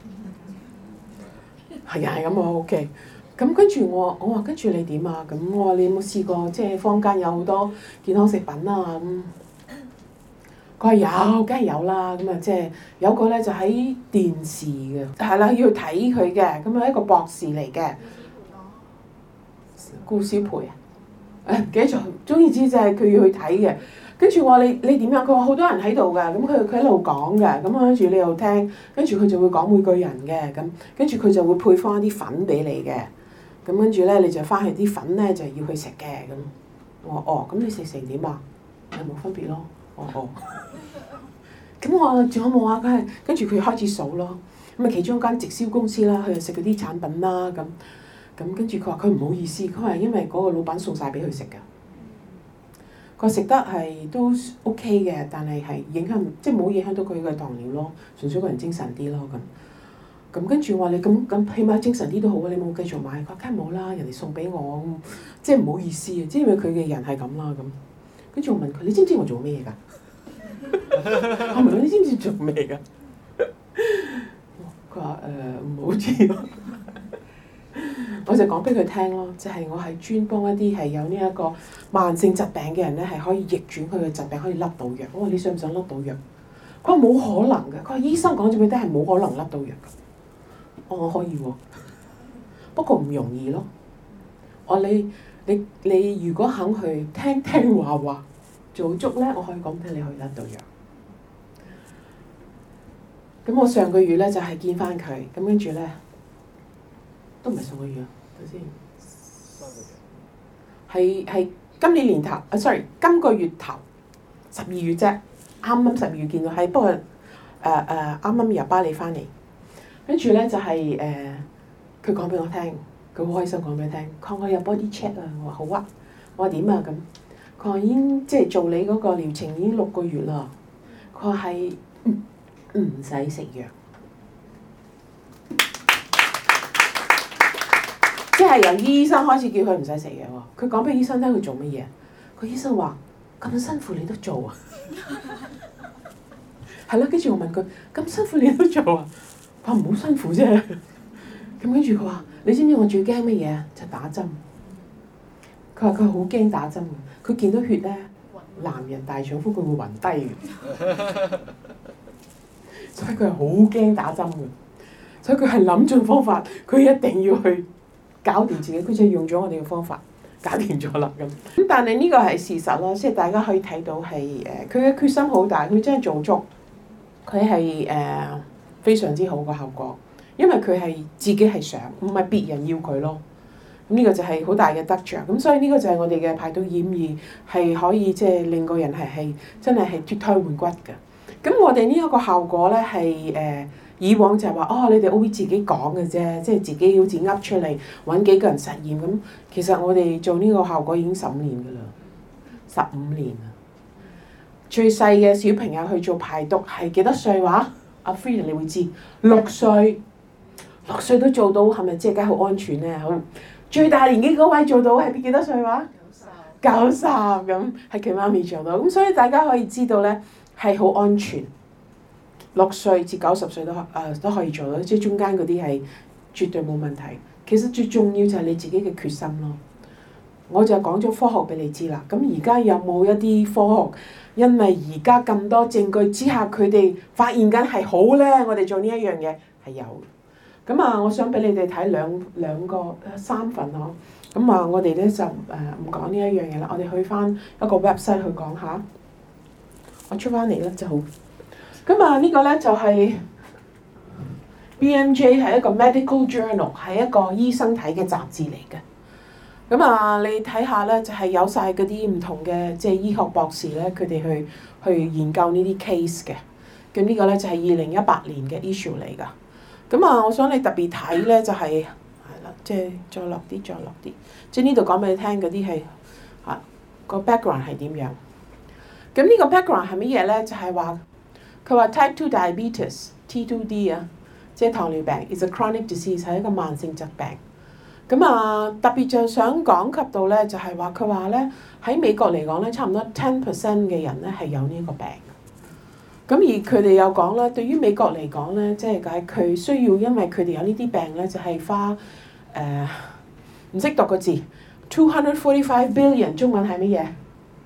係啊係咁我 OK。咁跟住我，我話跟住你點啊？咁我話你有冇試過即係坊間有好多健康食品啊？咁佢話有，梗係有啦。咁啊即係有個咧就喺電視嘅，係啦要睇佢嘅。咁啊一個博士嚟嘅，顧小培啊，誒唔記得咗。總言之就係佢要去睇嘅。跟住我話你你點樣？佢話好多人喺度㗎。咁佢佢喺度講嘅。咁跟住你又聽，跟住佢就會講每個人嘅。咁跟住佢就會配方一啲粉俾你嘅。咁跟住咧，你就翻去啲粉咧就要去食嘅咁。我話哦，咁你食成點啊？係冇分別咯。哦哦。咁我話仲有冇啊？佢係跟住佢開始數咯。咁啊，其中一間直銷公司啦，佢就食嗰啲產品啦。咁咁跟住佢話佢唔好意思，佢話因為嗰個老闆送晒俾佢食㗎。佢食得係都 OK 嘅，但係係影響即係冇影響到佢嘅糖尿咯，純粹個人精神啲咯咁。咁跟住我話你咁咁起碼精神啲都好啊！你冇繼續買，佢話梗係冇啦，人哋送俾我，即係唔好意思啊！即係因為佢嘅人係咁啦咁。跟住我問佢：你知唔知我做咩㗎？我問佢：你知唔知做咩㗎？佢話誒唔好知咯。我就講俾佢聽咯，就係、是、我係專幫一啲係有呢一個慢性疾病嘅人咧，係可以逆轉佢嘅疾病，可以甩到藥。我話你想唔想甩到藥？佢話冇可能嘅。佢話醫生講咗俾你聽係冇可能甩到藥嘅。我可以喎，不過唔容易咯。我你你你如果肯去聽聽話話做足咧，我可以講俾你可以甩到藥。咁我上個月咧就係見翻佢，咁跟住咧， 都唔係上個月啊，睇先。係係今年年頭啊 ，sorry， 今個月頭十二月啫，啱啱十二月見到係，不過誒誒啱啱由巴黎翻嚟，跟住咧就係、是、誒，佢講俾我聽，佢好開心講俾我聽，佢話我有 body check 啊，我話好啊，我話點啊咁，佢話已經即係做你嗰個療程已經六個月啦，佢話係唔使食藥。即係由醫生開始叫佢唔使食嘢喎，佢講俾醫生聽佢做乜嘢？個醫生話：咁辛苦你都做啊？係啦，跟住我問佢：咁辛苦你都做啊？佢話唔好辛苦啫。咁跟住佢話：你知唔知我最驚乜嘢？就打針。佢話佢好驚打針嘅，佢見到血咧，男人大丈夫佢會暈低嘅，所以佢係好驚打針嘅。所以佢係諗盡方法，佢一定要去搞掂自己，佢就用咗我哋嘅方法搞掂咗啦咁。咁但係呢個係事實咯，即係大家可以睇到係誒，佢嘅決心好大，佢真係做足，佢係誒非常之好嘅效果，因為佢係自己係想，唔係別人要佢咯。咁呢個就係好大嘅得着。咁所以呢個就係我哋嘅排毒二五二係可以即係令個人係係真係係脫胎換骨嘅。咁我哋呢一個效果咧係誒。以往就係話哦，你哋 O B 自己講嘅啫，即係自己好似噏出嚟揾幾個人實驗咁。其實我哋做呢個效果已經十五年㗎啦，十五年啦。最細嘅小朋友去做排毒係幾多歲話？阿 Frida 你會知，六歲，六歲都做到，係咪即係梗係好安全咧？好，最大年紀嗰位做到係幾多歲話？九十，九十咁係佢媽咪做到，咁所以大家可以知道咧係好安全。六歲至九十歲都誒、呃、都可以做到，即係中間嗰啲係絕對冇問題。其實最重要就係你自己嘅決心咯。我就講咗科學俾你知啦。咁而家有冇一啲科學？因為而家咁多證據之下，佢哋發現緊係好咧。我哋做呢一樣嘢係有。咁啊，我想俾你哋睇兩兩個三份呵。咁啊，我哋咧就誒唔講呢一樣嘢啦。我哋去翻一個 website 去講下。我出翻嚟咧就好。咁啊，呢個咧就係 B M J 係一個 medical journal， 係一個醫生睇嘅雜誌嚟嘅。咁啊，你睇下咧，就係有晒嗰啲唔同嘅即係醫學博士咧，佢哋去去研究呢啲 case 嘅。咁呢個咧就係二零一八年嘅 issue 嚟噶。咁啊，我想你特別睇咧就係係啦，即係再落啲，再落啲。即係呢度講俾你聽嗰啲係啊個 background 係點樣。咁呢個 background 係乜嘢咧？就係話。佢話 type two diabetes T two D 啊，即係糖尿病 is a chronic disease 係一個慢性疾病。咁啊，特別就想講及到咧，就係話佢話咧喺美國嚟講咧，差唔多 ten percent 嘅人咧係有呢個病。咁而佢哋又講啦，對於美國嚟講咧，即係解佢需要，因為佢哋有呢啲病咧，就係、是、花誒唔識讀個字 two hundred forty five billion 中文係乜嘢？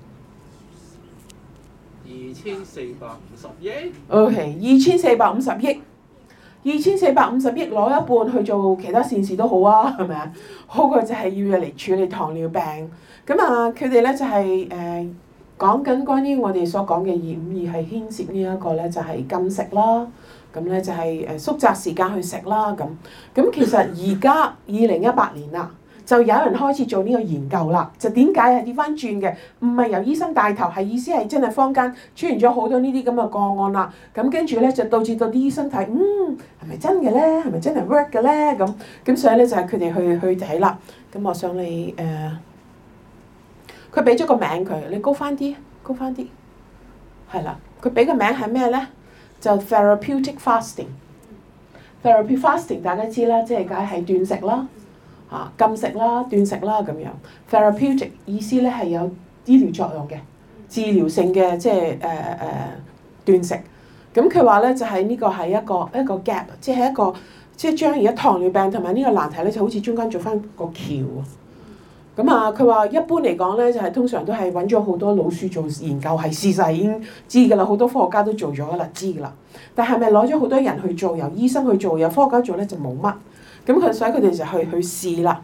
二千四百五十億。 O.K. 二千四百五十億，二千四百五十億攞一半去做其他善事都好啊，係咪啊？好過就係要嚟處理糖尿病。咁啊，佢哋咧就係誒講緊關於我哋所講嘅二五二係牽涉呢一個咧，就係禁食啦。咁咧就係誒縮窄時間去食啦。咁咁其實而家二零一八年啦。就有人開始做呢個研究啦，就點解係調翻轉嘅？唔係由醫生帶頭，係意思係真係坊間出現咗好多呢啲咁嘅個案啦。咁跟住咧就導致到啲醫生睇，嗯係咪真嘅咧？係咪真係 work 嘅咧？咁咁所以咧就係佢哋去去睇啦。咁我想你誒，佢俾咗個名佢，你高翻啲，高翻啲，係啦。佢俾個名係咩咧？就 therapeutic fasting。therapeutic fasting 大家知啦，即係解係斷食啦。啊，禁食啦、斷食啦咁樣 ，therapeutic 意思咧係有醫療作用嘅、治療性嘅，即係誒誒斷食。咁佢話咧就係、是、呢個係一個一個 gap， 即係一個即係將而家糖尿病同埋呢個難題咧，就好似中間做翻個橋。咁啊，佢話一般嚟講咧，就係、是、通常都係揾咗好多老鼠做研究，係事實已經知㗎啦，好多科學家都做咗㗎啦，知㗎啦。但係咪攞咗好多人去做，由醫生去做，由科學家做咧就冇乜。咁佢所以佢哋就去去試啦。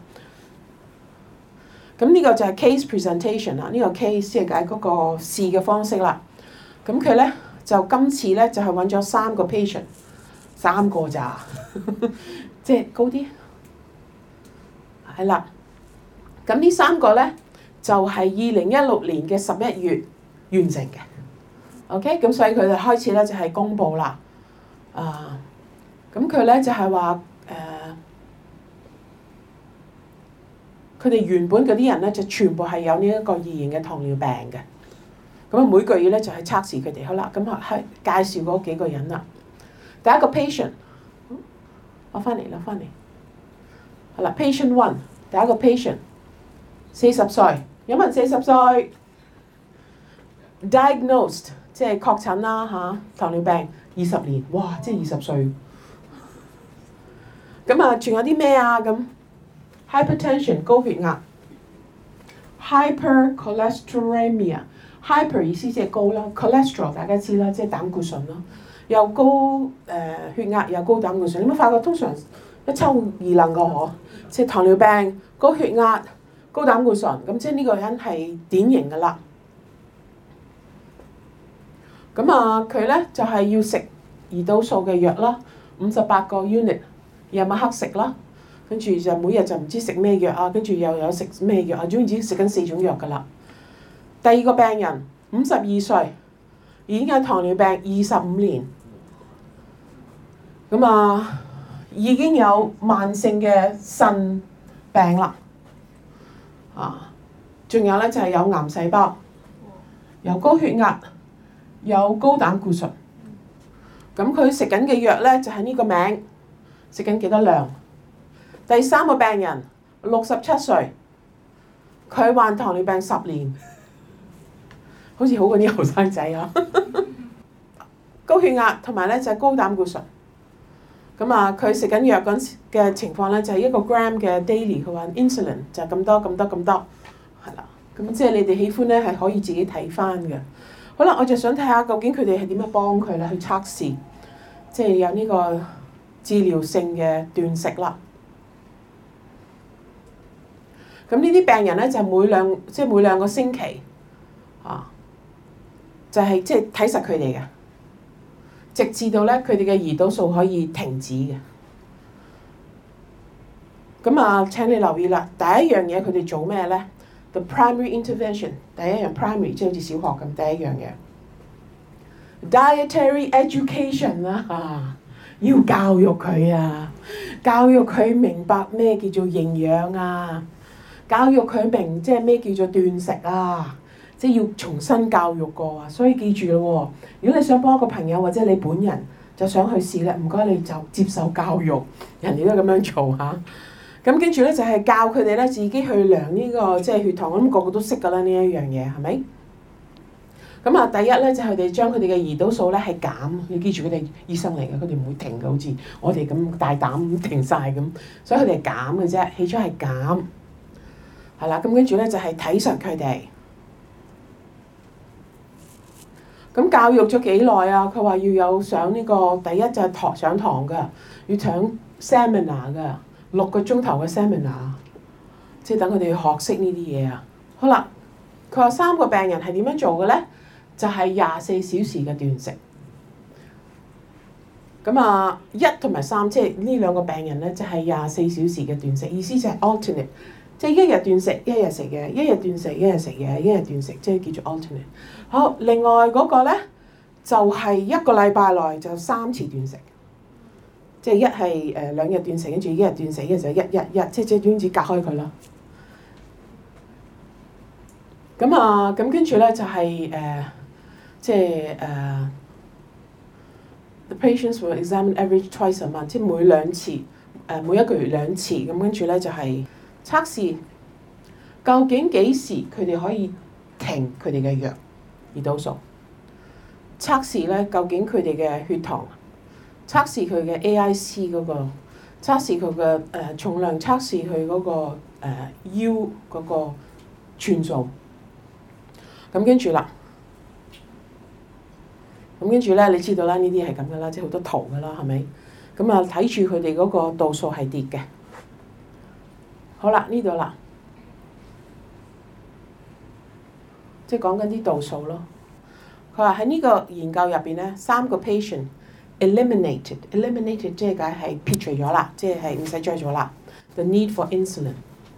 咁呢個就係 case presentation 啦，呢個 case 即係解嗰個試嘅方式啦。咁佢咧就今次咧就係揾咗三個 patient， 三個咋，即係高啲。 係啦。咁呢三個咧就係二零一六年嘅十一月完成嘅。OK，咁所以佢哋開始咧就係公佈啦。啊，咁佢咧就係話誒，佢哋原本嗰啲人咧就全部係有呢一個二型嘅糖尿病嘅。咁啊每個月咧就係測試佢哋。好啦，咁啊係介紹嗰幾個人啦。第一個 patient， 攞翻嚟攞翻嚟。好啦 ，patient one， 第一個 patient， 四十歲，有冇人四十歲 ？diagnosed， 即係確診啦嚇，糖尿病二十年，哇！即係二十歲。咁啊，仲有啲咩啊？咁 hypertension 高血壓 ，hypercholesterolemia，hyper 意思即係高啦 ，cholesterol 大家知啦，即係膽固醇啦，又高誒、呃、血壓又高膽固醇。你有冇發覺通常一抽二愣個嗬？即係糖尿病、高血壓、高膽固醇，咁即係呢個人係典型㗎啦。咁啊，佢咧就係、是、要食胰島素嘅藥啦，五十八個 unit， 夜晚黑食啦，跟住就每日就唔知食咩藥啊，跟住又有食咩藥啊，總之食緊四種藥㗎啦。第二個病人五十二歲，已經有糖尿病二十五年，咁啊已經有慢性嘅腎病啦，啊，仲有咧就係有癌細胞，有高血壓，有高膽固醇。咁佢食緊嘅藥咧就係呢個名，食緊幾多量？第三個病人六十七歲，佢患糖尿病十年，好似好過啲後生仔啊！高血壓同埋咧就係高膽固醇。咁啊，佢食緊藥嗰陣嘅情況咧就係一個 gram 嘅 daily， 佢話 insulin 就係咁多咁多咁多，係啦。咁即係你哋喜歡咧係可以自己睇翻嘅。好啦，我就想睇下究竟佢哋係點樣幫佢咧去測試，即係有呢個治療性嘅斷食啦。咁呢啲病人咧就每兩即係每兩個星期啊，就係即係睇實佢哋嘅，直至到咧佢哋嘅胰島素可以停止嘅。咁啊，請你留意啦，第一樣嘢佢哋做咩咧？ The primary intervention， 第一樣 primary 即係好似小學咁，第一樣嘢 dietary education 啦，啊，要教育佢啊，教育佢明白咩叫做營養啊，教育佢明即係咩叫做斷食啊，即係要重新教育過啊。所以記住咯，如果你想幫一個朋友或者你本人就想去試咧，唔該你就接受教育，人哋都咁樣做嚇。咁跟住咧就係教佢哋咧自己去量呢個即係血糖，我諗個個都識㗎啦呢一樣嘢，係咪？咁啊，第一咧就係佢哋將佢哋嘅胰島素咧係減，要記住佢哋醫生嚟嘅，佢哋唔會停嘅，好似我哋咁大膽咁停晒咁，所以佢哋係減嘅啫，起初係減，係啦，咁跟住咧就係睇實佢哋。咁教育咗幾耐啊？佢話要有上呢個第一就係堂上堂㗎，要上 seminar 㗎。六個鐘頭嘅 seminar， 即係等佢哋學識呢啲嘢啊。好啦，佢話三個病人係點樣做嘅咧？就係廿四小時嘅斷食。咁啊，一同埋三，即係呢兩個病人咧，就係廿四小時嘅斷食。意思就係 alternate， 即係一日斷食，一日食嘢；一日斷食，一日食嘢；一日斷食，即係叫做 alternate。好，另外嗰個咧就係一個禮拜內就三次斷食。即係一係誒兩日斷食，跟住一日斷食，一日就一一一，即係即係點子隔開佢啦。咁啊，咁跟住咧就係、是、誒、呃，即係誒、呃、，the patients will examine every twice a month，即係每兩次，誒、呃、每一個月兩次。咁跟住咧就係、是、測試，究竟幾時佢哋可以停佢哋嘅藥胰島素？測試咧究竟佢哋嘅血糖。測試佢嘅 A I C 嗰個，測試佢嘅誒重量，測試佢嗰個誒 U 嗰個寸數。咁跟住啦，咁跟住咧，你知道啦，呢啲係咁噶啦，即係好多圖噶啦，係咪？咁啊，睇住佢哋嗰個度數係跌嘅。好啦，呢度啦，即係講緊啲度數咯。佢話喺呢個研究入邊咧，三個 patient。eliminated，eliminated 即係解係撇除咗啦，即係唔使再做啦。The need for insulin，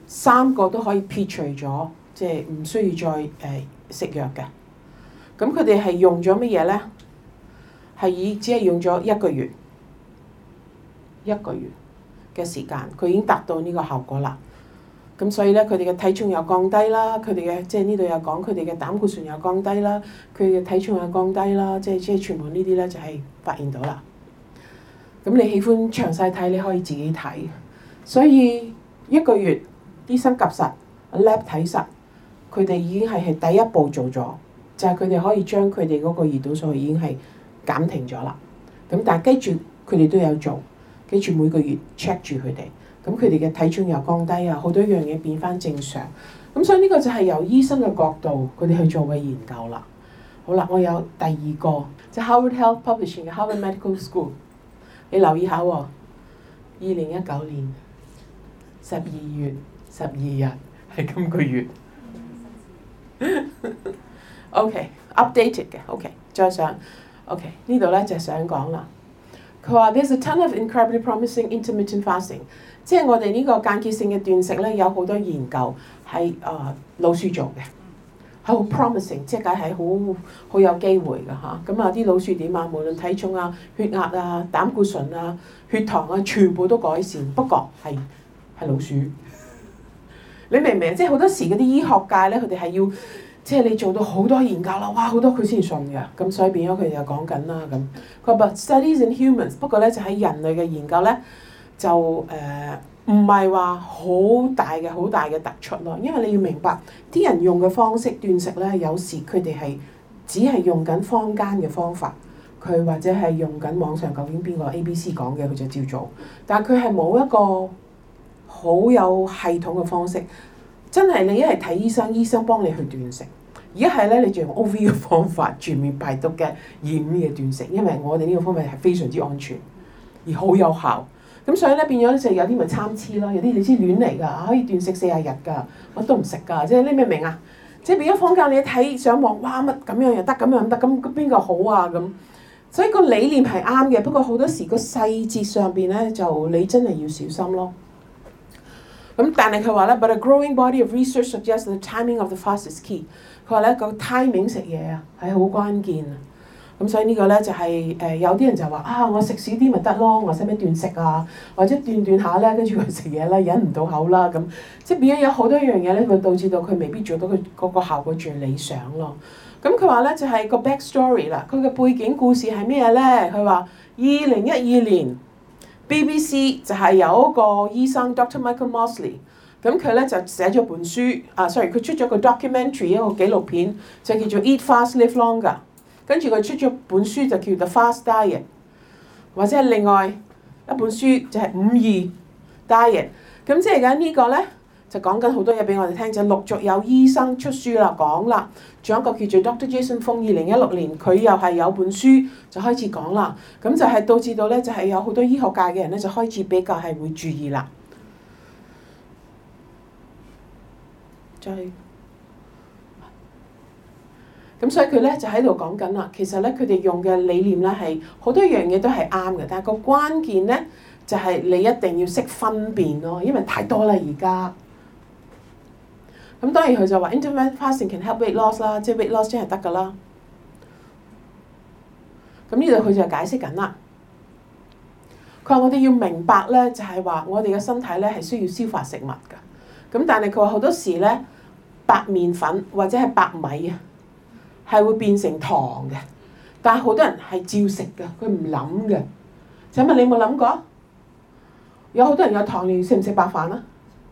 三個都可以撇除咗，即係唔需要再誒、呃、食藥嘅。咁佢哋係用咗乜嘢咧？係以只係用咗一個月，一個月嘅時間，佢已經達到呢個效果啦。咁所以咧，佢哋嘅體重又降低啦，佢哋嘅即係呢度又講佢哋嘅膽固醇又降低啦，佢嘅體重又降低啦，即係即係全部呢啲咧就係發現到啦。咁你喜歡詳細睇，你可以自己睇。所以一個月醫生及實 lab 睇實，佢哋已經係係第一步做咗，就係佢哋可以將佢哋嗰個胰島素已經係減停咗啦。咁但係記住佢哋都有做，記住每個月 check 住佢哋。咁佢哋嘅體重又降低啊，好多樣嘢變翻正常。咁所以呢個就係由醫生嘅角度，佢哋去做嘅研究啦。好啦，我有第二個，就 Harvard Health Publishing 嘅 Harvard Medical School。你留意下喎，二零一九年十二月十二日係今個月。OK，updated 嘅 OK，再上 OK 呢度咧就想講啦。佢話 There's a ton of incredibly promising intermittent fasting。即係我哋呢個間歇性嘅斷食咧，有好多研究係誒、呃、老鼠做嘅，係好 promising， 即係梗係好好有機會㗎嚇。咁啊啲老鼠點啊？無論體重啊、血壓啊、膽固醇啊、血糖啊，全部都改善。不過係係老鼠，你明唔明？即係好多時嗰啲醫學界咧，佢哋係要即係你做到好多研究啦，哇好多佢先信嘅。咁所以變咗佢哋就講緊啦咁。佢話 But studies in humans， 不過咧就喺人類嘅研究咧。就誒唔係話好大嘅好大嘅突出咯，因為你要明白啲人用嘅方式斷食咧，有時佢哋係只係用緊坊間嘅方法，佢或者係用緊網上究竟邊個 A B C 講嘅，佢就照做，但係佢係冇一個好有系統嘅方式。真係你一係睇醫生，醫生幫你去斷食；而一係咧你就用 O V 嘅方法，全面排毒嘅二五嘅斷食，因為我哋呢個方法係非常之安全而好有效。咁所以咧變咗咧就有啲咪參差咯，有啲你知亂嚟㗎，可以斷食四十日㗎，我都唔食㗎，即係你明唔明啊？即係變咗坊間你一睇上網，哇乜咁樣又得，咁樣又得，咁邊個好啊咁？所以個理念係啱嘅，不過好多時個細節上邊咧就你真係要小心咯。咁但係佢話咧 ，but a growing body of research suggests the timing of the fast is key。佢話咧個 timing 食嘢啊係好關鍵啊。咁所以呢個咧就係、是、誒、呃、有啲人就話啊，我食少啲咪得咯，我使咩斷食啊？或者斷斷下咧，跟住佢食嘢啦，忍唔到口啦咁，即係變咗有好多樣嘢咧，會導致到佢未必做到佢嗰個效果最理想咯。咁佢話咧就係、是、個 back story 啦，佢嘅背景故事係咩咧？佢話二零一二年 B B C 就係有一個醫生 Doctor Michael Mosley， 咁佢咧就寫咗本書啊 ，sorry 佢出咗個 documentary 一個紀錄片，就叫做 Eat Fast Live Longer。跟住佢出咗本書就叫 The Fast Diet， 或者係另外一本書就係五二 Diet。咁即係緊呢個咧就講緊好多嘢俾我哋聽，就陸續有醫生出書啦講啦。仲有一個叫做 Doctor Jason Fung， 二零一六年佢又係有本書就開始講啦。咁就係導致到咧就係有好多醫學界嘅人咧就開始比較係會注意啦。再。咁所以佢咧就喺度講緊啦，其實咧佢哋用嘅理念咧係好多樣嘢都係啱嘅，但係個關鍵咧就係你一定要識分辨咯，因為太多啦而家。咁當然佢就話 intermittent fasting can help weight loss 啦，即係 weight loss 真係得㗎啦。咁呢度佢就解釋緊啦。佢話我哋要明白咧，就係話我哋嘅身體咧係需要消化食物㗎。咁但係佢話好多時咧白麵粉或者係白米啊，係會變成糖嘅，但係好多人係照食嘅，佢唔諗嘅。請問你有冇諗過？有好多人有糖尿，食唔食白飯啊？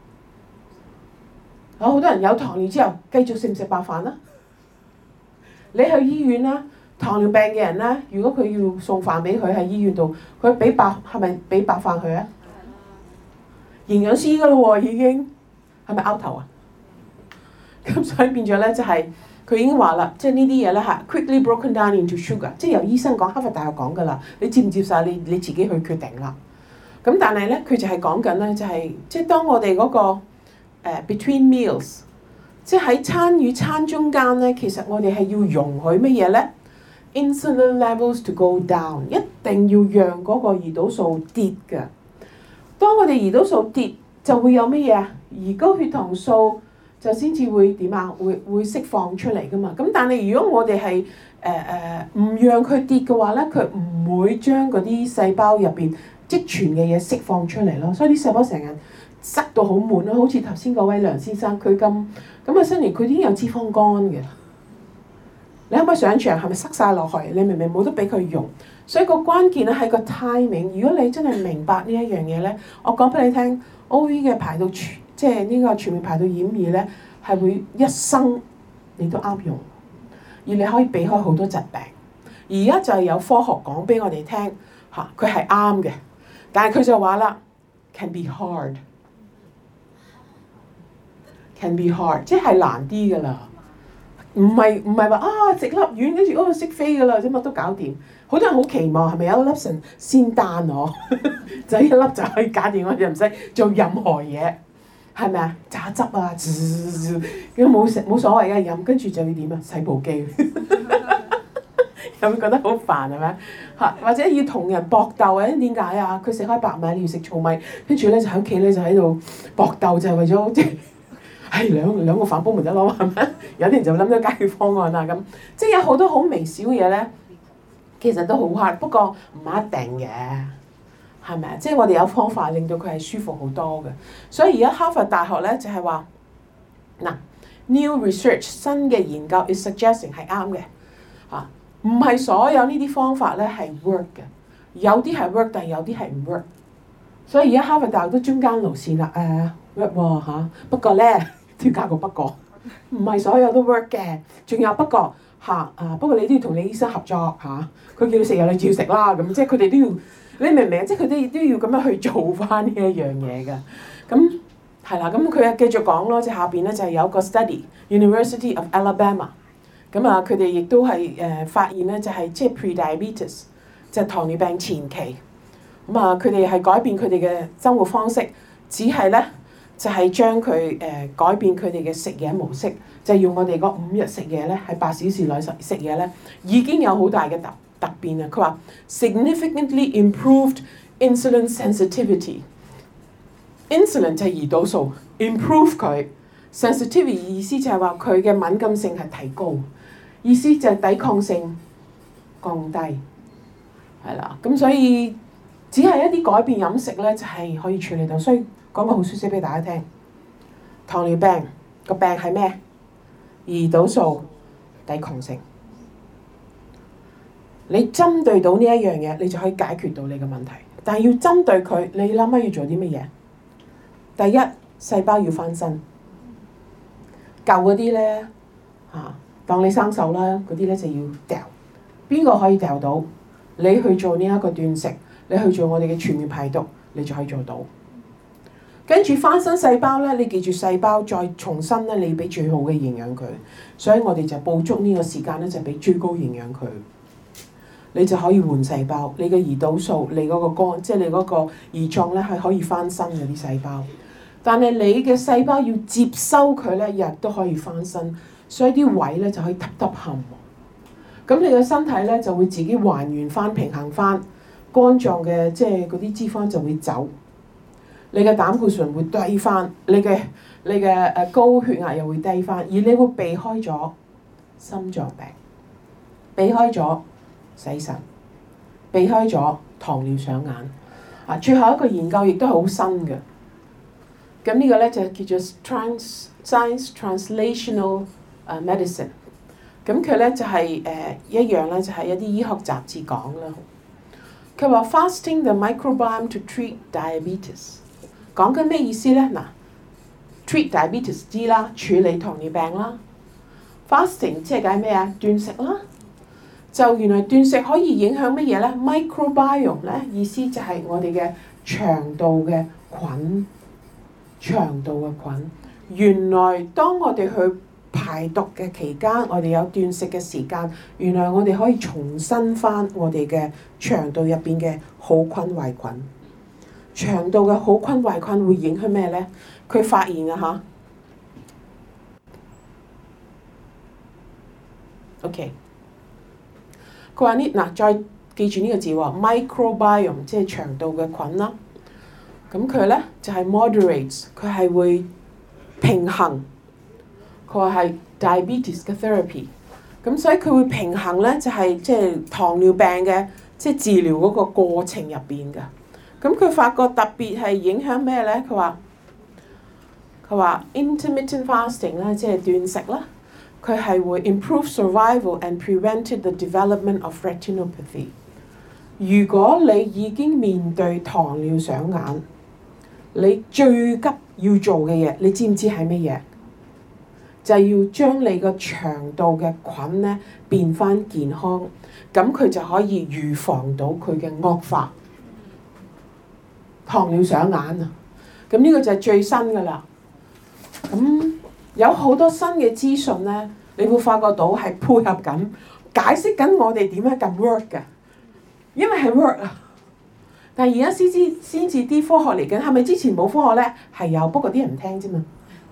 有好多人有糖尿之後，繼續食唔食白飯啊？你去醫院啦，糖尿病嘅人咧，如果佢要送飯俾佢喺醫院度，佢俾白係咪俾白飯佢啊？營養師㗎咯喎，已經係咪拗頭啊？咁所以變咗咧就係、是。佢已經話啦，即係呢啲嘢咧嚇 quickly broken down into sugar， 即係由醫生講，哈佛大學講㗎啦，你接唔接受你你自己去決定啦。咁但係咧，佢就係講緊咧，就係、是、即係當我哋嗰、那個、uh, between meals， 即係喺餐與餐中間咧，其實我哋係要容許乜嘢咧 ？insulin levels to go down， 一定要讓嗰個胰島素跌㗎。當我哋胰島素跌，就會有乜嘢啊？ 而高血糖素就先至會點啊？會會釋放出嚟噶嘛。咁但係如果我哋係誒誒唔讓佢跌嘅話咧，佢唔會將嗰啲細胞入邊積存嘅嘢釋放出嚟咯。所以啲細胞成日塞到好滿咯，好似頭先嗰位梁先生，佢咁咁啊，新年佢已經有脂肪肝嘅。你可唔可以想象係咪塞晒落去？你明明冇得俾佢用，所以個關鍵咧係個 timing。如果你真係明白呢一樣嘢咧，我講俾你聽 ，O V 嘅排毒全即係呢個全面排毒演義咧，係會一生你都啱用，而你可以避開好多疾病。而家就係有科學講俾我哋聽嚇，佢係啱嘅，但係佢就話啦 ，can be hard，can be hard， 即係難啲㗎啦。唔係唔係話啊食粒丸跟住嗰個識飛㗎啦，即乜都搞掂。好多人好期望係咪有一粒神仙丹我，就一粒就可以搞掂，我哋唔使做任何嘢，係咪啊？榨汁啊，咁冇食冇所謂嘅飲，跟住就要點啊？洗部機，有冇覺得好煩係咪？嚇，或者要同人搏鬥啊？點解啊？佢食開白米，你要食糙米，跟住咧就喺屋企咧就喺度搏鬥，就係為咗即係。係兩兩個飯煲咪得咯，係咪？有啲人就諗咗解決方案啦咁，即係有好多好微小嘅嘢咧，其實都好 hard，不過唔一定嘅，係咪啊？即係我哋有方法令到佢係舒服好多嘅。所以而家哈佛大學咧就係話，嗱 new research 新嘅研究 is suggesting 係啱嘅嚇，唔係所有呢啲方法咧係 work 嘅，有啲係 work，但係有啲係唔 work。所以而家哈佛大學都中間路線啦，誒 work 喎嚇，不過咧。要加個不過，唔係所有都 work 嘅，仲有不過嚇啊！不過你都要同你醫生合作嚇，佢、啊、叫你食藥你照食啦咁，即係佢哋都要，你明唔明？即係佢哋都要咁樣去做翻呢一樣嘢㗎。咁係啦，咁佢又繼續講咯，即係下邊咧就係有個 study，University of Alabama， 咁啊佢哋亦都係誒發現咧就係即係 pre-diabetes， 即係糖尿病前期，咁啊佢哋係改變佢哋嘅生活方式，只係咧。就係將佢誒改變佢哋嘅食嘢模式，就係、用我哋嗰五日食嘢咧，喺八小時內食食嘢咧，已經有好大嘅突突變啊！佢話 significantly improved insulin sensitivity。insulin 就係胰島素 ，improve 佢 sensitivity 意思就係話佢嘅敏感性係提高，意思就係抵抗性降低，係啦。咁所以只係一啲改變飲食咧，就係、係、可以處理到，所以。講個好消息俾大家聽，糖尿病個病係咩？胰島素抵抗性。你針對到呢一樣嘢，你就可以解決到你嘅問題。但係要針對佢，你諗下要做啲乜嘢？第一，細胞要翻身。舊嗰啲咧嚇，當你生鏽啦，嗰啲咧就要掉。邊個可以掉到？你去做呢一個斷食，你去做我哋嘅全面排毒，你就可以做到。跟住翻身細胞咧，你記住細胞再重新咧，你俾最好嘅營養佢。所以我哋就捕捉呢個時間咧，就俾最高營養佢。你就可以換細胞，你嘅胰島素，你嗰個肝，即係你嗰個胰臟咧，係可以翻身嘅啲細胞。但係你嘅細胞要接收佢咧，日都可以翻身，所以啲位咧就可以揼揼冚。咁你嘅身體咧就會自己還原翻、平衡翻肝臟嘅，即係嗰啲脂肪就會走。你嘅膽固醇會低翻，你嘅你嘅誒高血壓又會低翻，而你會避開咗心臟病，避開咗洗腎，避開咗糖尿上眼。啊，最後一個研究亦都係好新嘅。咁呢個咧就叫做 Trans Science Translational 誒 Medicine。咁佢咧就係誒一樣咧，就係一啲醫學雜誌講啦。佢話 Fasting the microbiome to treat diabetes。講緊咩意思咧？嗱 ，treat diabetes 知啦，處理糖尿病啦。fasting 即係解咩啊？斷食啦。就原來斷食可以影響乜嘢咧 ？microbiome 咧意思就係我哋嘅腸道嘅菌，腸道嘅菌。原來當我哋去排毒嘅期間，我哋有斷食嘅時間，原來我哋可以重新翻我哋嘅腸道入邊嘅好菌壞菌。腸道嘅好菌壞菌會影響咩咧？佢發現啊嚇。OK，佢話呢嗱，再記住呢個字喎 ，microbiome 即係腸道嘅菌啦。咁佢咧就係 moderates，佢係會平衡。佢話係 diabetes 嘅 therapy， 咁所以佢會平衡咧，就係即係糖尿病嘅即係治療嗰個過程入邊㗎。咁佢發覺特別係影響咩咧？佢話佢話 intermittent fasting 咧，即係斷食啦，佢係會 improve survival and prevented the development of retinopathy。如果你已經面對糖尿上眼，你最急要做嘅嘢，你知唔知係乜嘢？就係要將你個腸道嘅菌咧變返健康，咁佢就可以預防到佢嘅惡化。糖尿上眼啊，咁呢個就係最新㗎啦。咁有好多新嘅資訊咧，你會發覺到係配合緊解釋緊我哋點樣咁 work 㗎，因為係 work 啊。但係而家先知先至啲科學嚟緊，係咪之前冇科學咧？係有，不過啲人唔聽啫嘛。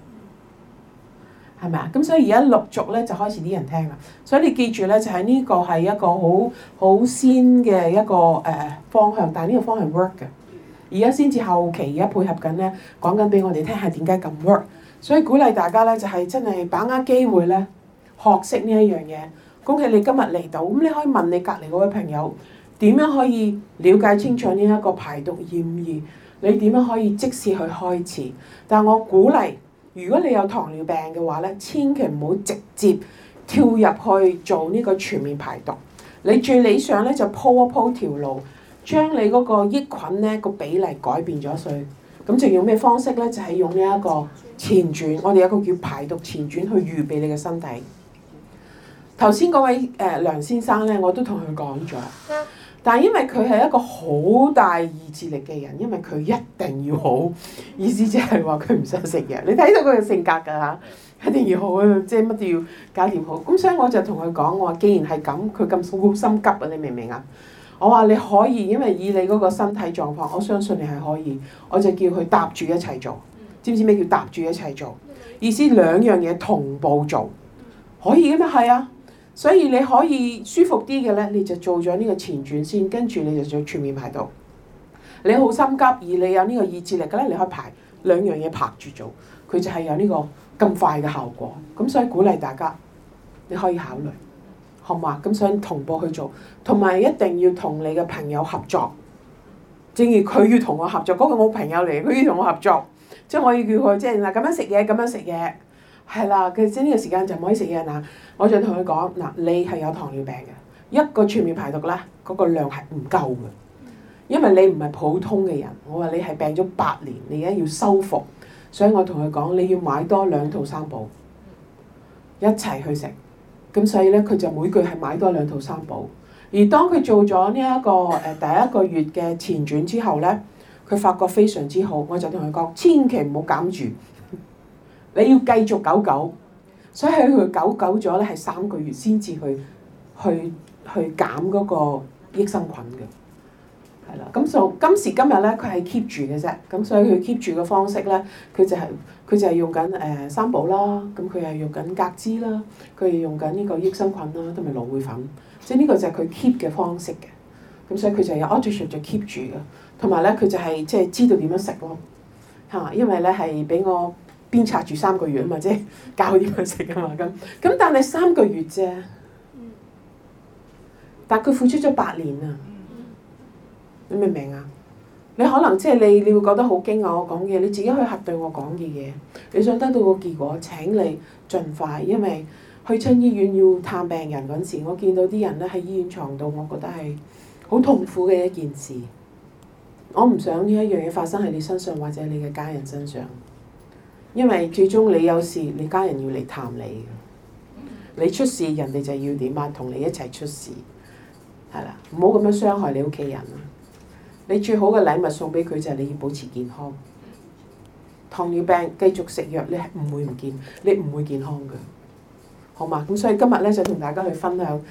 係咪啊？咁所以而家陸續咧就開始啲人聽啦。所以你記住咧，就係呢個係一個好好先嘅一個誒方向，但係呢個方向 work 嘅。而家先至後期，而家配合緊咧，講緊俾我哋聽係點解咁 work。所以鼓勵大家咧，就係真係把握機會咧，學識呢一樣嘢。恭喜你今日嚟到，咁你可以問你隔離嗰位朋友點樣可以了解清楚呢一個排毒驗儀，你點樣可以即時去開始。但係我鼓勵，如果你有糖尿病嘅話咧，千祈唔好直接跳入去做呢個全面排毒。你最理想咧就鋪一鋪條路，將你嗰個益菌咧個比例改變咗佢。咁就用咩方式咧？就係用呢一個前轉，我哋有一個叫排毒前轉去預備你嘅身體。頭先嗰位誒、呃、梁先生咧，我都同佢講咗，但係因為佢係一個好大意志力嘅人，因為佢一定要好，意思即係話佢唔想食嘢。你睇到佢嘅性格㗎嚇，一定要好啊，即係乜都要搞掂好。咁所以我就同佢講，我話既然係咁，佢咁好心急啊，你明唔明啊？我話你可以，因為以你嗰個身體狀況，我相信你係可以。我就叫佢搭住一齊做，知唔知咩叫搭住一齊做？意思兩樣嘢同步做，可以嘅咩？係啊，所以你可以舒服啲嘅咧，你就做咗呢個前轉先，跟住你就做全面排毒。你好心急而你有呢個意志力嘅咧，你可以排兩樣嘢拍住做，佢就係有呢個咁快嘅效果。咁所以鼓勵大家，你可以考慮。好嘛？咁想同步去做，同埋一定要同你嘅朋友合作。正如佢要同我合作，嗰、那個我朋友嚟，佢要同我合作，即係我要叫佢即係嗱咁樣食嘢，咁樣食嘢，係啦。佢即係呢個時間就唔可以食嘢嗱。我就同佢講嗱，你係有糖尿病嘅，一個全面排毒咧，嗰、那個量係唔夠嘅，因為你唔係普通嘅人。我話你係病咗八年，你而家要修復，所以我同佢講你要買多兩套三寶，一齊去食。咁所以咧，佢就每個月係買多兩套三寶。而當佢做咗呢一個誒第一個月嘅前轉之後咧，佢發覺非常之好。我就同佢講，千祈唔好減住，你要繼續久久。所以佢久久咗咧，係三個月先至去去去減嗰個益生菌嘅。係啦，咁就今時今日咧，佢係 keep 住嘅啫。咁所以佢 keep 住嘅方式咧，佢就係、是、佢就係用緊誒三寶啦，咁佢係用緊格脂啦，佢係用緊呢個益生菌啦，同埋蘆薈粉。即係呢個就係佢 keep 嘅方式嘅。咁所以佢就有 automation 就 keep 住嘅，同埋咧佢就係即係知道點樣食咯嚇，因為咧係俾我鞭策住三個月啊嘛，即係教佢點樣食啊嘛咁。咁但係三個月啫，但佢付出咗八年啊！你明唔明啊？你可能即係你，你會覺得好驚訝我講嘢，你自己去核對我講嘅嘢。你想得到個結果，請你盡快，因為去親醫院要探病人嗰陣時，我見到啲人咧喺醫院床度，我覺得係好痛苦嘅一件事。我唔想呢一樣嘢發生喺你身上或者你嘅家人身上，因為最終你有事，你家人要嚟探你。你出事，人哋就要點啊？同你一齊出事，係啦，唔好咁樣傷害你屋企人啊！你最好嘅禮物送俾佢就係你要保持健康。糖尿病繼續食藥，你係唔會唔健，你唔會健康嘅，好嘛？咁所以今日咧就同大家去分享。